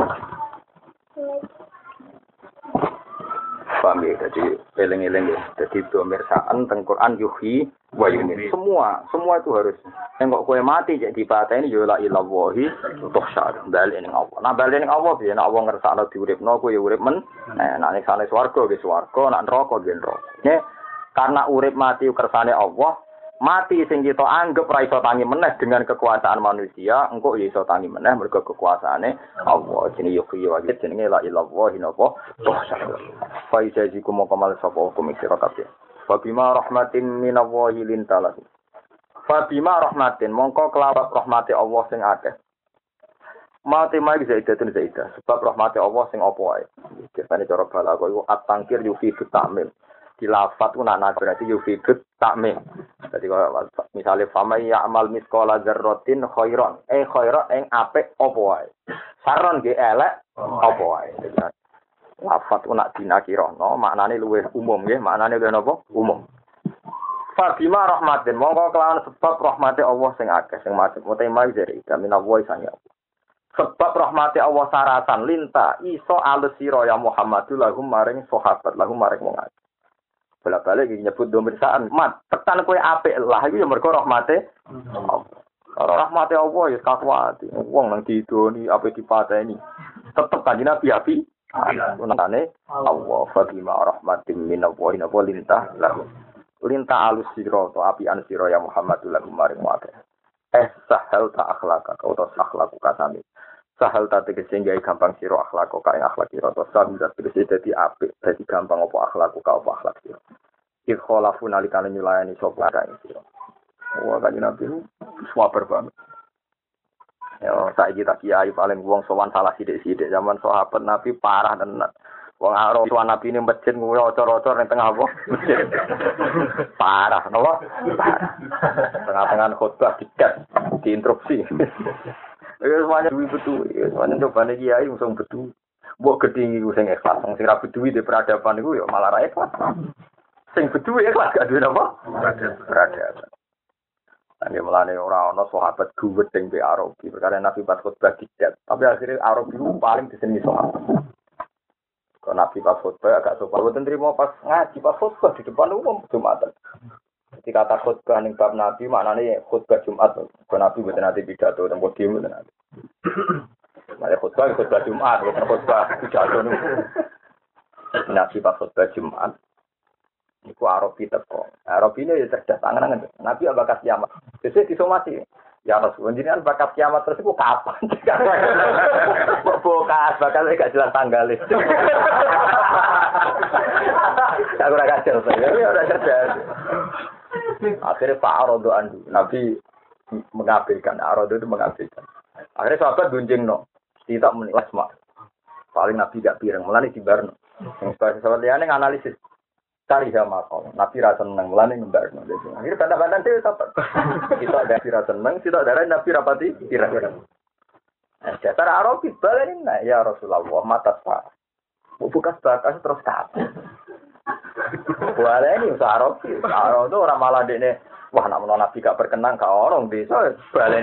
Paham ya, jadi eleng-eleng ya. Jadi domirsaan teng Quran yuhi wa yumin. Semua, semua itu harus. Yang kok kowe mati jadi dipateni ya la ilahi tuhsyar. Bali ning Allah. Nah bali ning Allah piye nek Allah ngersakno diuripno kowe ya urip men. Nah nek sane swarga ge swarga, nek neraka ge neraka. Karena urip mati kersane Allah, mati sing kita anggap ra iso tangi meneh dengan kekuasaan manusia, engko ya iso tangi meneh mergo kekuasaane Allah. Jenenge yuhi wa jenenge la ilahi napa tuhsyar. Fa ijazikum kamal sapa hukum sira kabeh. Fa bima rahmatin minallahi lintalah. Fa bima rahmatin mongko kelawat rahmate Allah sing akeh. Mate mai zaidatun zaidah sebab rahmate Allah sing apa wae. Biasane cara balaghah iku at-tangkir yufidu ta'mim. Dilafat ku nak berarti yufidu ta'mim. Dadi misale fama ya'mal misqala dzarratin khairan. Eh khairan ing apik apa wae. Saron ge elek apa wae. Lafat ku nak dinakirono maknane luwih umum nggih, maknane luwih napa? Umum. Fabima rahmatin mongko kelawan sebab rahmate Allah sing akeh sing macet tema dari kami nawa isane. Sebab rahmate Allah saratan linta iso alus sira ya Muhammadul lahum maring sahabat lahum maring wong akeh. Bola-balik iki nyebut domirsaan mat tekan kowe apik lah iku ya mergo rahmate Allah. Ora rahmate Allah ya kakuati. Wong nang didoni apik dipateni. Tetep kanjeng Nabi api. Unane Allah fabima rahmatin minallahi wa lintah lahu. Lintah alus sira to apian sira ya Muhammadul lahum maring akeh. Eh sahal ta akhlaka kau to akhlaku kasane. Sahal ta tegese gawe gampang sira akhlako kae akhlak sira to sahal tegese dadi apik dadi gampang apa akhlaku ka apa akhlak sira. Ik kholafu nalikane nyulayani sapa kae sira. Wah kanjeng Nabi swaper banget. Ya saiki tak kiai paling wong sowan salah sithik-sithik zaman sahabat Nabi parah tenan. Wong aro sowan Nabi ini masjid kuwi ocor-ocor ning tengah apa? Masjid. Parah, napa? Tengah-tengah khotbah dikat, diinstruksi. Ya semuanya duwe betul, ya semuanya cobane kiai langsung betul. Mbok gedhi iku sing ikhlas, sing ra beduwi di peradaban iku ya malah ra ikhlas. Sing beduwi ikhlas gak duwe apa? Peradaban. Nggih mulane ora ana sahabat duwet sing be Arabi, perkara Nabi pas khutbah dicat. Tapi akhirnya Arabi itu paling diseni sahabat. Kalau Nabi pas khutbah agak sopan, boten trimo pas ngaji pas khutbah di depan umum Jumatan. Ketika kata khutbah ning bab Nabi maknane khutbah Jumat. Kalau Nabi boten nate pidato teng podium boten nate. Mare khutbah khutbah Jumat, boten khutbah pidato niku. Nabi pas khutbah Jumat iku Arabi teko. Arabi ini ya cerdas tangan-tangan. Nabi bakat kiamat. Sesuk disomasi. Ya Rasul, jenengan bakat kiamat terus iku kapan? Bokas bakal gak jelas tanggal. Aku ora kacer to. Ya ora cerdas. Akhirnya Pak Arodo andu. Nabi mengabaikan. Arodo itu mengabaikan. Akhirnya sahabat gunjing no. Tidak menilas mak. Paling Nabi gak pireng. Mulane dibarno. Yang sahabat liyane nganalisis. Cari sama kau, Nabi rasa seneng, mulane ngembar. Akhirnya bantah-bantah itu sahabat. Kita ada Nabi rasa seneng, kita ada Nabi rapati kira-kira. Dasar Arabi balen nah ya Rasulullah mata sah. Bukas bakas terus kabeh. Boleh ini usaha Arabi. Arabi itu orang malah dene wah nak menawa Nabi gak berkenan ka orang desa balen.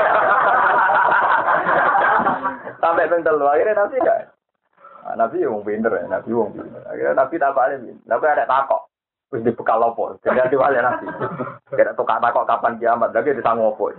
Sampai ping telu akhirnya Nabi gak Nah, Nabi wong pinter ya, Nabi wong pinter. Akhirnya Nabi tak balik, Nabi ada takok. Wis dibekal apa? Jadi diwale Nabi. Kira tukang takok kapan kiamat, lagi disanggup apa.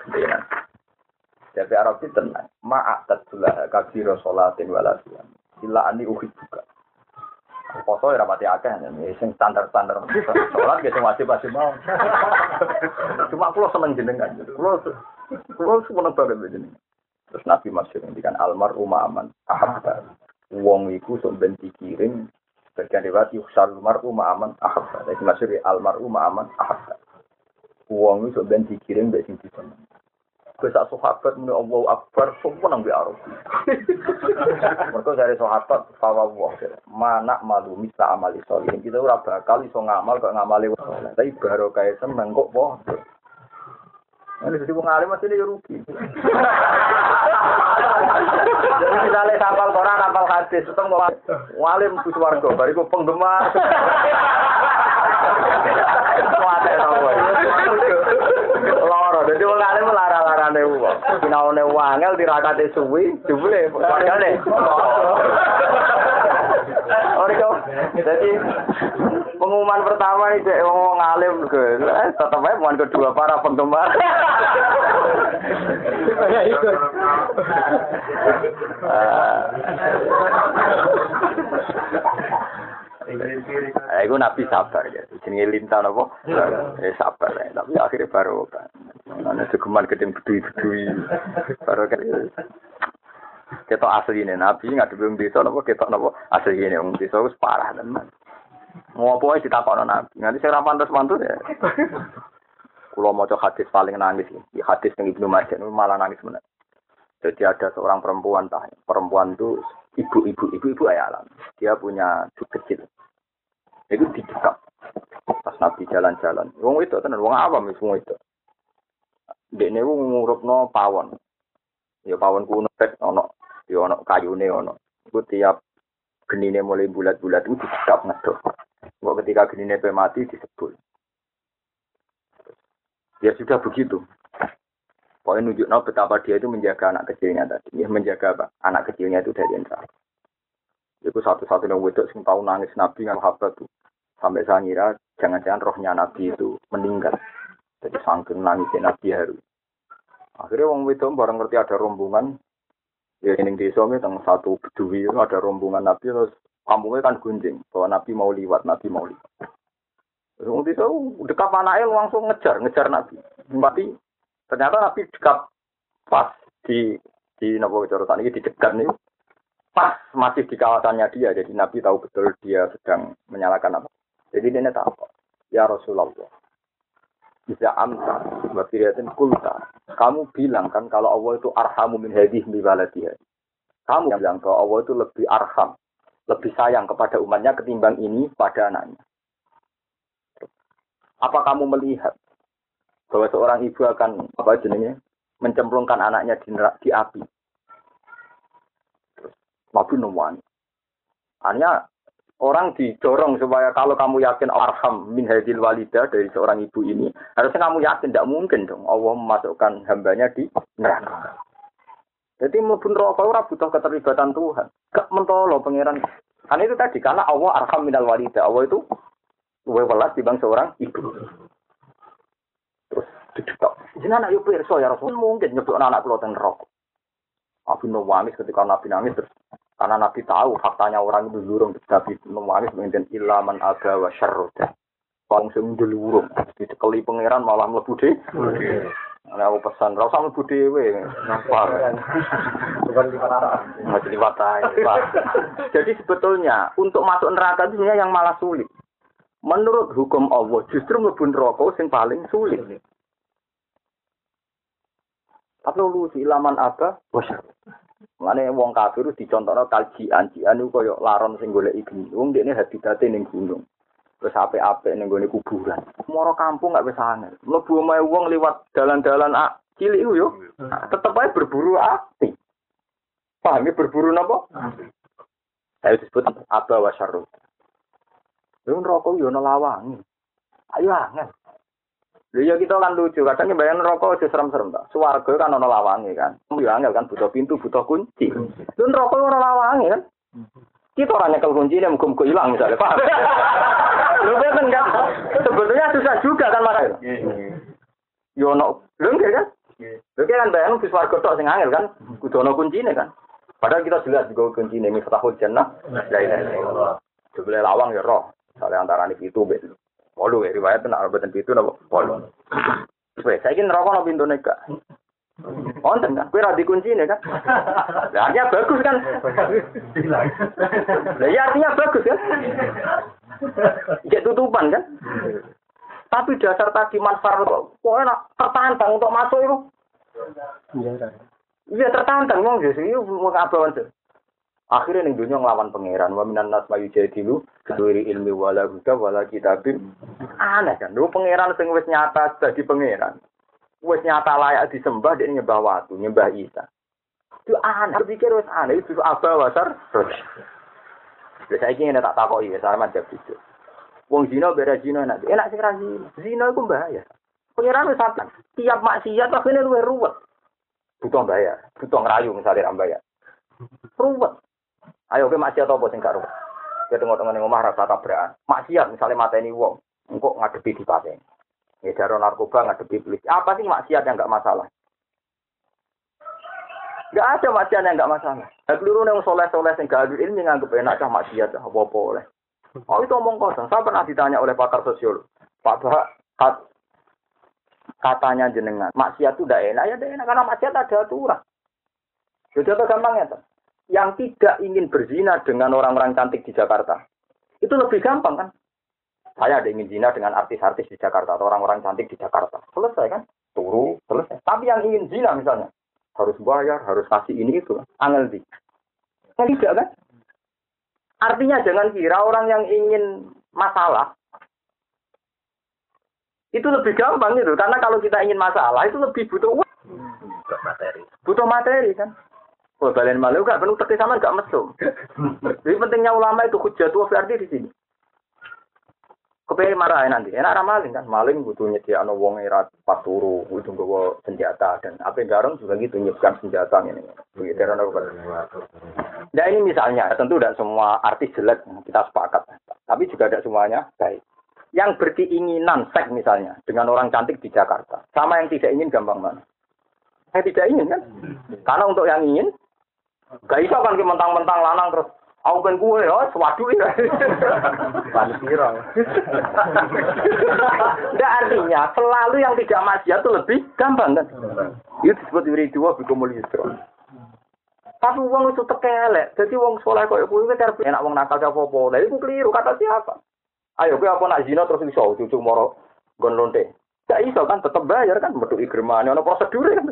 Jadi Arab itu tenang. Ma'at tadzulah kabiro sholatin walasiam. Sila ani uhid juga. Foto ya rapati akeh, sing standar-standar. Sholat gitu wajib-wajib mau. Cuma aku seneng jenengan. Kulo kulo seneng banget jenengan. Terus Nabi masyhur ngendikan almar umaman ahabba. Wong iku sok ben dikirim bagian riwayat yuksal mar'u ma'aman ahabba. Dadi maksud al mar'u ma'aman ahabba. Wong iku sok ben dikirim mbek sing diseneng. Wis sak sahabat muni Allahu Akbar semua nang Arab. Mergo dari sahabat fawwah mana malu misa amali sholihin. Kita ora bakal iso ngamal kok ngamali wong saleh. Tapi barokah seneng kok padha. Ini jadi wong alim mesti ini rugi. Jadi misalnya hafal Quran, hafal hadis, itu mau alim ku swarga, bariku penggemar. Kuat ya nopo. Loro, jadi wong alim lara-larane wong. Sinaone wangel dirakate suwi, jebule wargane. Oriko. Jadi pengumuman pertama itu wong alim ke, eh, tetap aja pengumuman kedua para penggemar. Ya itu. Eh, itu Nabi sabar ya. Jenenge lintan apa? Eh sabar ya. Tapi akhirnya baru kan. Ana segeman gedeng bedui-bedui. Baru kan. Ketok asline Nabi ngadepi wong desa napa ketok napa asline wong desa wis parah tenan. Ngopo ae ditakokno Nabi. Nganti sing ra pantes-pantes ya. Kulo maca hadis paling nangis iki. Hadis ning Ibnu Majah malah nangis bener. Jadi ada seorang perempuan tah. Perempuan itu ibu-ibu, ibu-ibu ayalan. Dia punya cucu kecil. Itu dicekap. Pas Nabi jalan-jalan. Wong itu tenan wong awam wis wong itu. Dekne wong ngurupno pawon. Ya pawon kuno tek ono, ya ono kayune ono. Iku tiap genine mulai bulat-bulat itu dicekap ngedok. Kok ketika genine pe mati disebul. Ya sudah begitu. Pokoknya nunjukno betapa dia itu menjaga anak kecilnya tadi. Ya menjaga apa? Anak kecilnya itu dari neraka. Itu satu-satunya wedok sing tahu nangis Nabi dengan sahabat tuh. Sampai saya ngira jangan-jangan rohnya Nabi itu meninggal. Jadi saking nangisnya Nabi haru. Akhirnya wong wedok bareng ngerti ada rombongan. Ya ini desa teng satu bedui itu ada rombongan Nabi terus kampungnya kan gunjing bahwa Nabi mau liwat, Nabi mau liwat. Wong desa dekat anake langsung ngejar, ngejar Nabi. Tapi ternyata Nabi dekat pas di di napa cara ini dicegat nih. Pas masih di kawasannya dia. Jadi Nabi tahu betul dia sedang menyalakan apa. Jadi dia tahu. Ya Rasulullah. Bisa amta wa firiyatin kulta. Kamu bilang kan kalau Allah itu arhamu min hadhihi bi waladiha. Kamu bilang kalau Allah itu lebih arham, lebih sayang kepada umatnya ketimbang ini pada anaknya. Apa kamu melihat bahwa seorang ibu akan apa jenenge mencemplungkan anaknya di, di api? Nabi nuwani. Hanya orang didorong supaya kalau kamu yakin arham min hadil walidah dari seorang ibu ini, harusnya kamu yakin tidak mungkin dong Allah memasukkan hambanya di neraka. Jadi mlebu neraka ora butuh keterlibatan Tuhan. Gak mentolo pangeran. Kan itu tadi karena Allah arham minal walidah. Allah itu luwih welas dibanding seorang ibu. Terus dicetok. Jenengan ayo pirsa ya Rasul mungkin nyebut anak kula ten neraka. Nabi nangis ketika Nabi nangis terus karena Nabi tahu faktanya orang itu lurung Nabi nangis mengintip ilaman aga wa syarroda. Wong sing ndelurung dicekeli pangeran malah mlebu de. Ana aku pesan ora usah mlebu dhewe. Napa? Bukan liwat ae. Liwat ae. Jadi sebetulnya untuk masuk neraka itu sebenarnya yang malah sulit. Menurut hukum Allah justru mlebu neraka sing paling sulit. Tapi lu si ilaman apa? Bosar. Mane wong kafir dicontohno kaljian, jian iku koyo laron sing golek iki. Wong dekne habitate ning gunung. Terus apik-apik ning gone kuburan. Moro kampung gak wis angel. Mlebu omahe wong liwat dalan-dalan ah, cilik iku yo. Tetep ae berburu ati. Paham ya berburu napa? Saya disebut apa wasyarru. Lha neraka yo ana lawange. Ayo angel. Lha ya kita kan lucu, kadang bayang neraka aja serem-serem ta. Swarga kan ana lawange kan. Yo angel kan butuh pintu, butuh kunci. Lha neraka ora lawange kan. Kita orang nyekel kuncinya muka-muka hilang misalnya, paham? Lu kan kan sebetulnya susah juga kan makanya. Yo no, lu enggak kan? Lu kan bayang bis warga tok sing angel kan, kudu ono kuncine kan. Padahal kita jelas juga kuncine miftahul jannah. La ilaha illallah. Jebule lawang ya roh. Soale antarane pitu mbek wolu riwayat nek boten pitu napa wolu. Wes saiki neraka ono pintune gak? Wonten kan, kowe ra dikuncine kan? Lah artinya bagus kan? Lah ya artinya bagus kan? Jadi tutupan kan? Tapi dasar tadi manfaat kok enak tertantang untuk masuk itu. Iya tertantang wong Yesus iki wong abawan. Akhirnya ning dunya nglawan pangeran wa minan nas mayu jadilu keduri ilmi wala huda wala kitabim. Aneh kan, lho pangeran sing wis nyata dadi pangeran. Wes nyata layak disembah dia nyembah watu, nyembah Isa. Itu aneh, pikir wes aneh itu apa wasar? Terus, saya ingin tak takoki ya, sama jawab itu. Wong zina beda zina enak, enak sih zina. Zina itu bahaya. Pengiran wes apa? Tiap maksiat akhirnya luwe ruwet. Butuh bayar, butuh ngerayu misalnya ram bayar. Ruwet. Ayo ke maksiat apa sing gak ruwet? Kita tengok-tengok ngomah rasa tabrakan. Maksiat misalnya mateni wong, engkok ngadepi dipateni. Ngedaro narkoba ngadepi polisi. Apa sih maksiat yang enggak masalah? Enggak ada maksiat yang enggak masalah. Nah, keliru yang soleh-soleh yang gak ada ilmu nganggep enak cah maksiat apa-apa oleh. Oh itu omong kosong. Saya pernah ditanya oleh pakar sosiolog. Pak Bahak, kat, katanya jenengan, maksiat itu udah enak. Ya udah enak karena maksiat ada aturan. Jadi apa gampangnya? Yang tidak ingin berzina dengan orang-orang cantik di Jakarta. Itu lebih gampang kan? Saya ada ingin zina dengan artis-artis di Jakarta atau orang-orang cantik di Jakarta. Selesai kan? Turu, selesai. Tapi yang ingin zina misalnya, harus bayar, harus kasih ini itu. Angel di. Kan tidak kan? Artinya jangan kira orang yang ingin masalah, itu lebih gampang gitu. Karena kalau kita ingin masalah, itu lebih butuh uang. Butuh materi. Butuh materi kan? Oh, kalian malu gak? Penuh tepi sama gak mesum. Jadi pentingnya ulama itu hujjah tua berarti di sini. Kepengen marahin nanti, enak maling kan, maling butuh nyediakno wong era pas turu, butuh nggawa senjata dan apa garong juga gitu nyiapkan senjata ini. Begitu kan. Nah ini misalnya, tentu tidak semua artis jelek kita sepakat, tapi juga tidak semuanya baik. Yang berkeinginan seks misalnya dengan orang cantik di Jakarta, sama yang tidak ingin gampang mana? Saya tidak ingin kan, karena untuk yang ingin, gak bisa kan mentang-mentang lanang terus. Aku kan gue ya, sewadu ya. Paling viral. Tidak artinya, selalu yang tidak maksiat itu lebih gampang kan. Itu disebut diri dua bikumul yusro. Tapi uang itu tekelek. Jadi uang sekolah kok ibu itu enak uang nakal apa-apa. Nah itu keliru, kata siapa? Ayo, gue apa nak zina terus bisa cucu moro gon lonte. Gak iso kan tetap bayar kan metuki germane ana prosedur kan.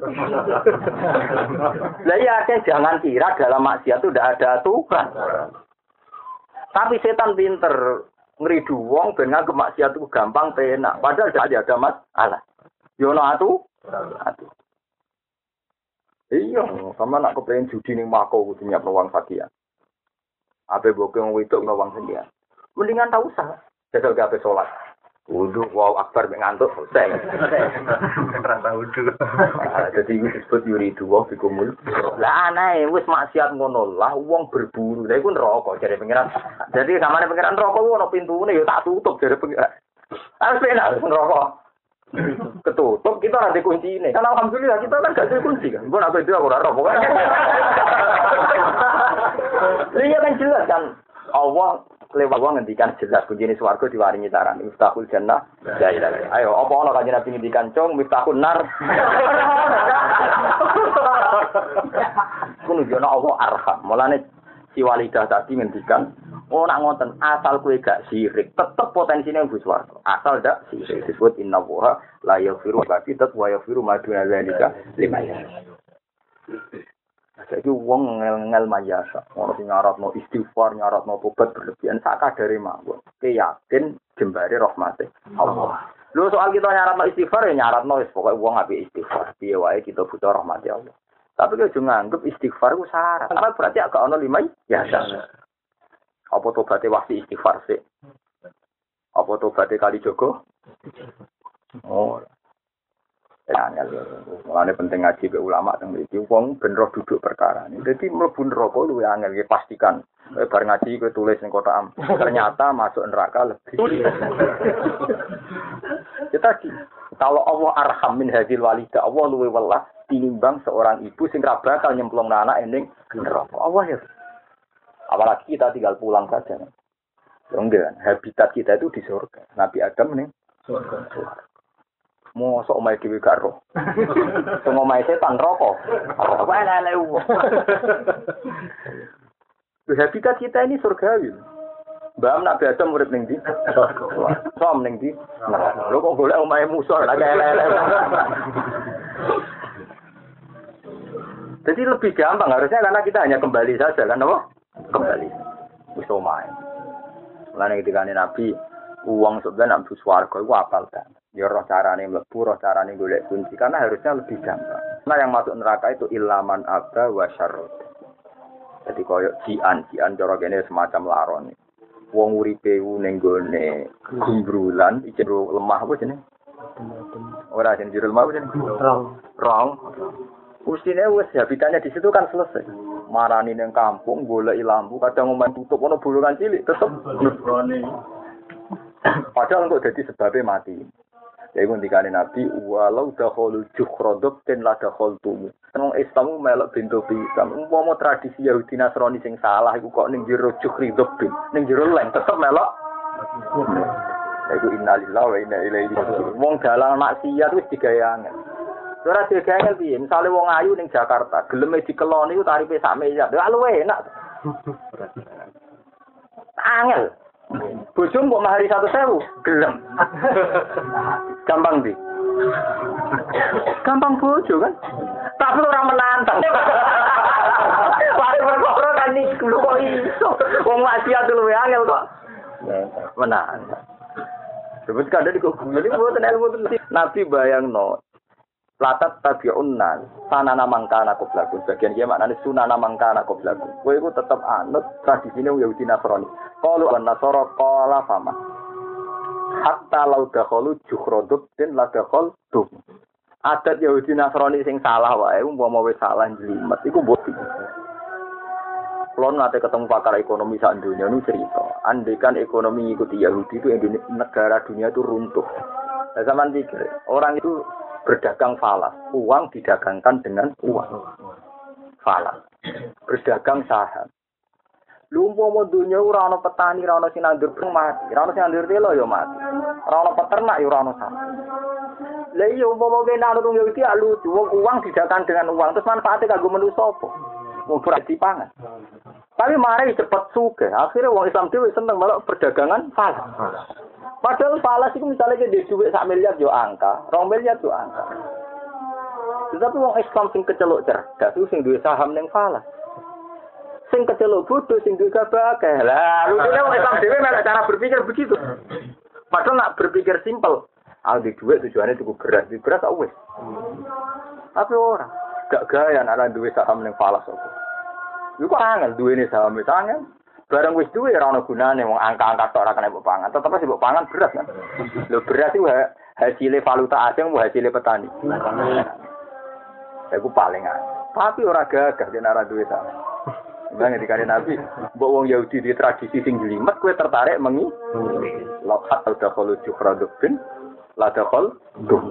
Lah ya jangan kira dalam maksiat itu tidak ada aturan. Tapi setan pinter ngridu wong ben nganggep maksiat itu gampang penak padahal tidak ada masalah. Yo ono atu atu. Iya, sama nak kepengin judi ning Mako kudu nyiapno wong sakian. Ape boke wong wedok ngawang sendiri. Mendingan tak usah. Jajal ke ape sholat. Wudu, wow akbar ngantuk selesai. Rasa wudu. Jadi itu disebut yuridu wa bikumul. Lah aneh, wis maksiat ngono lah wong berburu. Lah iku neraka jare pengiran. Jadi samane pengiran neraka ku ono pintune ya tak tutup jare pengiran. Harus penak neraka. Ketutup kita ora ada kuncine. Kan alhamdulillah kita kan gak ada kunci kan. Mbok aku itu aku ora roh pokoknya. Iya kan jelas kan Allah lewat wong ngendikan jelas kuncine swarga diwaringi taran miftahul jannah la ilaha. Ayo apa ana kanjeng Nabi ngendikan cung miftahun nar. Kuwi jono Allah arham. Mulane si walidah tadi ngendikan, "Oh nak ngoten asal kowe gak sirik, tetep potensine mlebu swarga. Asal ndak sirik disebut innallaha la yaghfiru baqitat wa yaghfiru ma duna dzalika liman yasha." Saiki wong ngel-ngel mayasa, ono sing nyaratno istighfar, nyaratno tobat berlebihan sak kadare mawon. Ke yakin jembare rahmate Allah. Lho soal kita nyaratno istighfar ya nyaratno wis pokoke wong apik istighfar. Piye wae kita butuh rahmate Allah. Tapi kalau nganggep istighfar ku syarat. Apa berarti agak ono limai? Ya syarat. Apa tobaté wasi istighfar sih? Apa tobaté kali Joko? Oh. Ya, mulane penting ngaji ke ulama teng mriki wong ben roh duduk perkara ini. Dadi mlebu neraka luwih angel ya pastikan. Eh, bar ngaji kowe tulis ning kotak am. Ternyata masuk neraka lebih. Ya tadi, kalau Allah arham min hadil walida, Allah luwih welas tinimbang seorang ibu sing ra bakal nyemplung anak ning neraka. Allah ya. Apalagi kita tinggal pulang saja. Ya enggak, habitat kita itu di surga. Nabi Adam ning surga. Mosok omahe dhewe gak roh. Sing omahe setan rokok. Apa elek-elek wong. Habitat kita ini surgawi. Mbak nak biasa murid ning ndi? Som ning ndi? Lho kok golek omahe musuh lagi elek-elek. Jadi lebih gampang harusnya karena kita hanya kembali saja kan apa? Kembali. Wis omahe. Mulane ketika Nabi uang sebenarnya nak swarga iku apal kan. Ya roh carane mlebu, roh carane golek kunci karena harusnya lebih gampang. Nah yang masuk neraka itu ilaman aba wa syarrud. Jadi koyo jian, jian cara kene semacam laron. Wong uripe ning gone gumbrulan, iki lemah apa jenenge? Ora jenenge jero lemah apa jenenge? Rong. Rong. Ustine wis habitatnya di situ kan selesai. Marani ning kampung goleki lampu, kadang omahe tutup ono bolongan cilik tetep nurone. Padahal untuk jadi sebabnya mati. Jadi ketika Nabi, walau dahulu jukhrodok dan la dahul tumu. Tenang Islamu melok bintu pisam. Umpama tradisi Yahudi Nasrani sing salah, iku kok ning jero jukhridok bin, ning jero leng tetep melok. Iku innalillahi wa inna ilaihi raji'un. Wong dalang maksiat wis digawe angel. Ora digawe angel piye? Misale wong ayu ning Jakarta, geleme dikeloni iku tarife sak miliar. Lha luwe enak. Angel. Bojo mbok mahari satu sewu, gelem. Gampang di. Gampang bojo kan? Tapi orang menantang. Wari perkara kan iki lho kok iso. Wong maksiat luwe angel kok. Menantang. Sebut kada di kok ngene mboten ilmu Nabi bayangno. Latat tabi'un nas sanana mangkana qoblaku. Bagian iki maknane sunana mangkana qoblaku. Kowe iku tetep anut tradisine Yahudi Nasrani. Qalu an-nasara qala fama. Hatta law dakhalu jukhradut den la dakhal tu. Adat Yahudi Nasrani sing salah wae umpama wis salah jlimet iku mbok. Kulon nate ketemu pakar ekonomi sak dunia nu cerita. Andekan ekonomi ikuti Yahudi itu Indonesia, negara dunia itu runtuh. Nah, zaman pikir orang itu berdagang falas, uang didagangkan dengan uang. Falas. Berdagang saham. Lu umpama dunya ora ana petani, ora ana sing nandur mati, ora ana sing nandur telo ya mati. Ora ana peternak ya ora ana saham. Lah iya umpama kene ana tunggu iki lucu, uang didagangkan dengan uang, terus manfaatnya kanggo manusa apa? Wong berarti pangan. Tapi mari cepet sugih, akhirnya wong Islam dhewe seneng malah perdagangan falas. Padahal falas itu misalnya dia duit sak miliar yo angka, rong miliar yo angka. Tetapi wong Islam sing kecelok cerdas itu sing duwe saham ning falas. Sing kecelok bodoh sing duwe gabake. Lah, rupane wong Islam dhewe malah cara berpikir begitu. Padahal nak berpikir simpel. Ah di duit tujuannya cukup beras, di beras wis. Tapi ora, gak gaya ana duwe saham ning falas apa. Iku angel duwene saham wis angel. Barang wis duwe ora ono gunane wong angka-angka tok ora kena mbok pangan. Tetep sih mbok pangan beras kan. Lho beras itu hasilnya valuta asing mau hasilnya petani. Aku paling aneh. Tapi ora gagah yen ora duwe ta. Bang dikare Nabi, mbok wong Yahudi di tradisi sing jelimet kowe tertarik mengi. Laqad tadkhulu jufradubin la dakhal duh.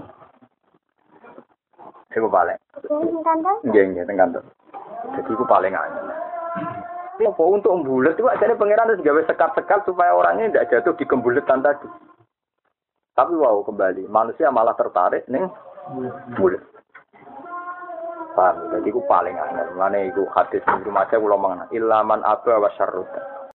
Aku paling. Nggih nggih teng kantor. Jadi aku paling aneh. Apa untuk membulet itu aja pangeran harus gawe sekat-sekat supaya orangnya tidak jatuh di kembuletan tadi. Tapi wow kembali manusia malah tertarik nih bulet. Paham? Jadi aku paling aneh. Mana itu hadis di rumah saya ulang mengenai ilaman aba wa syarruta.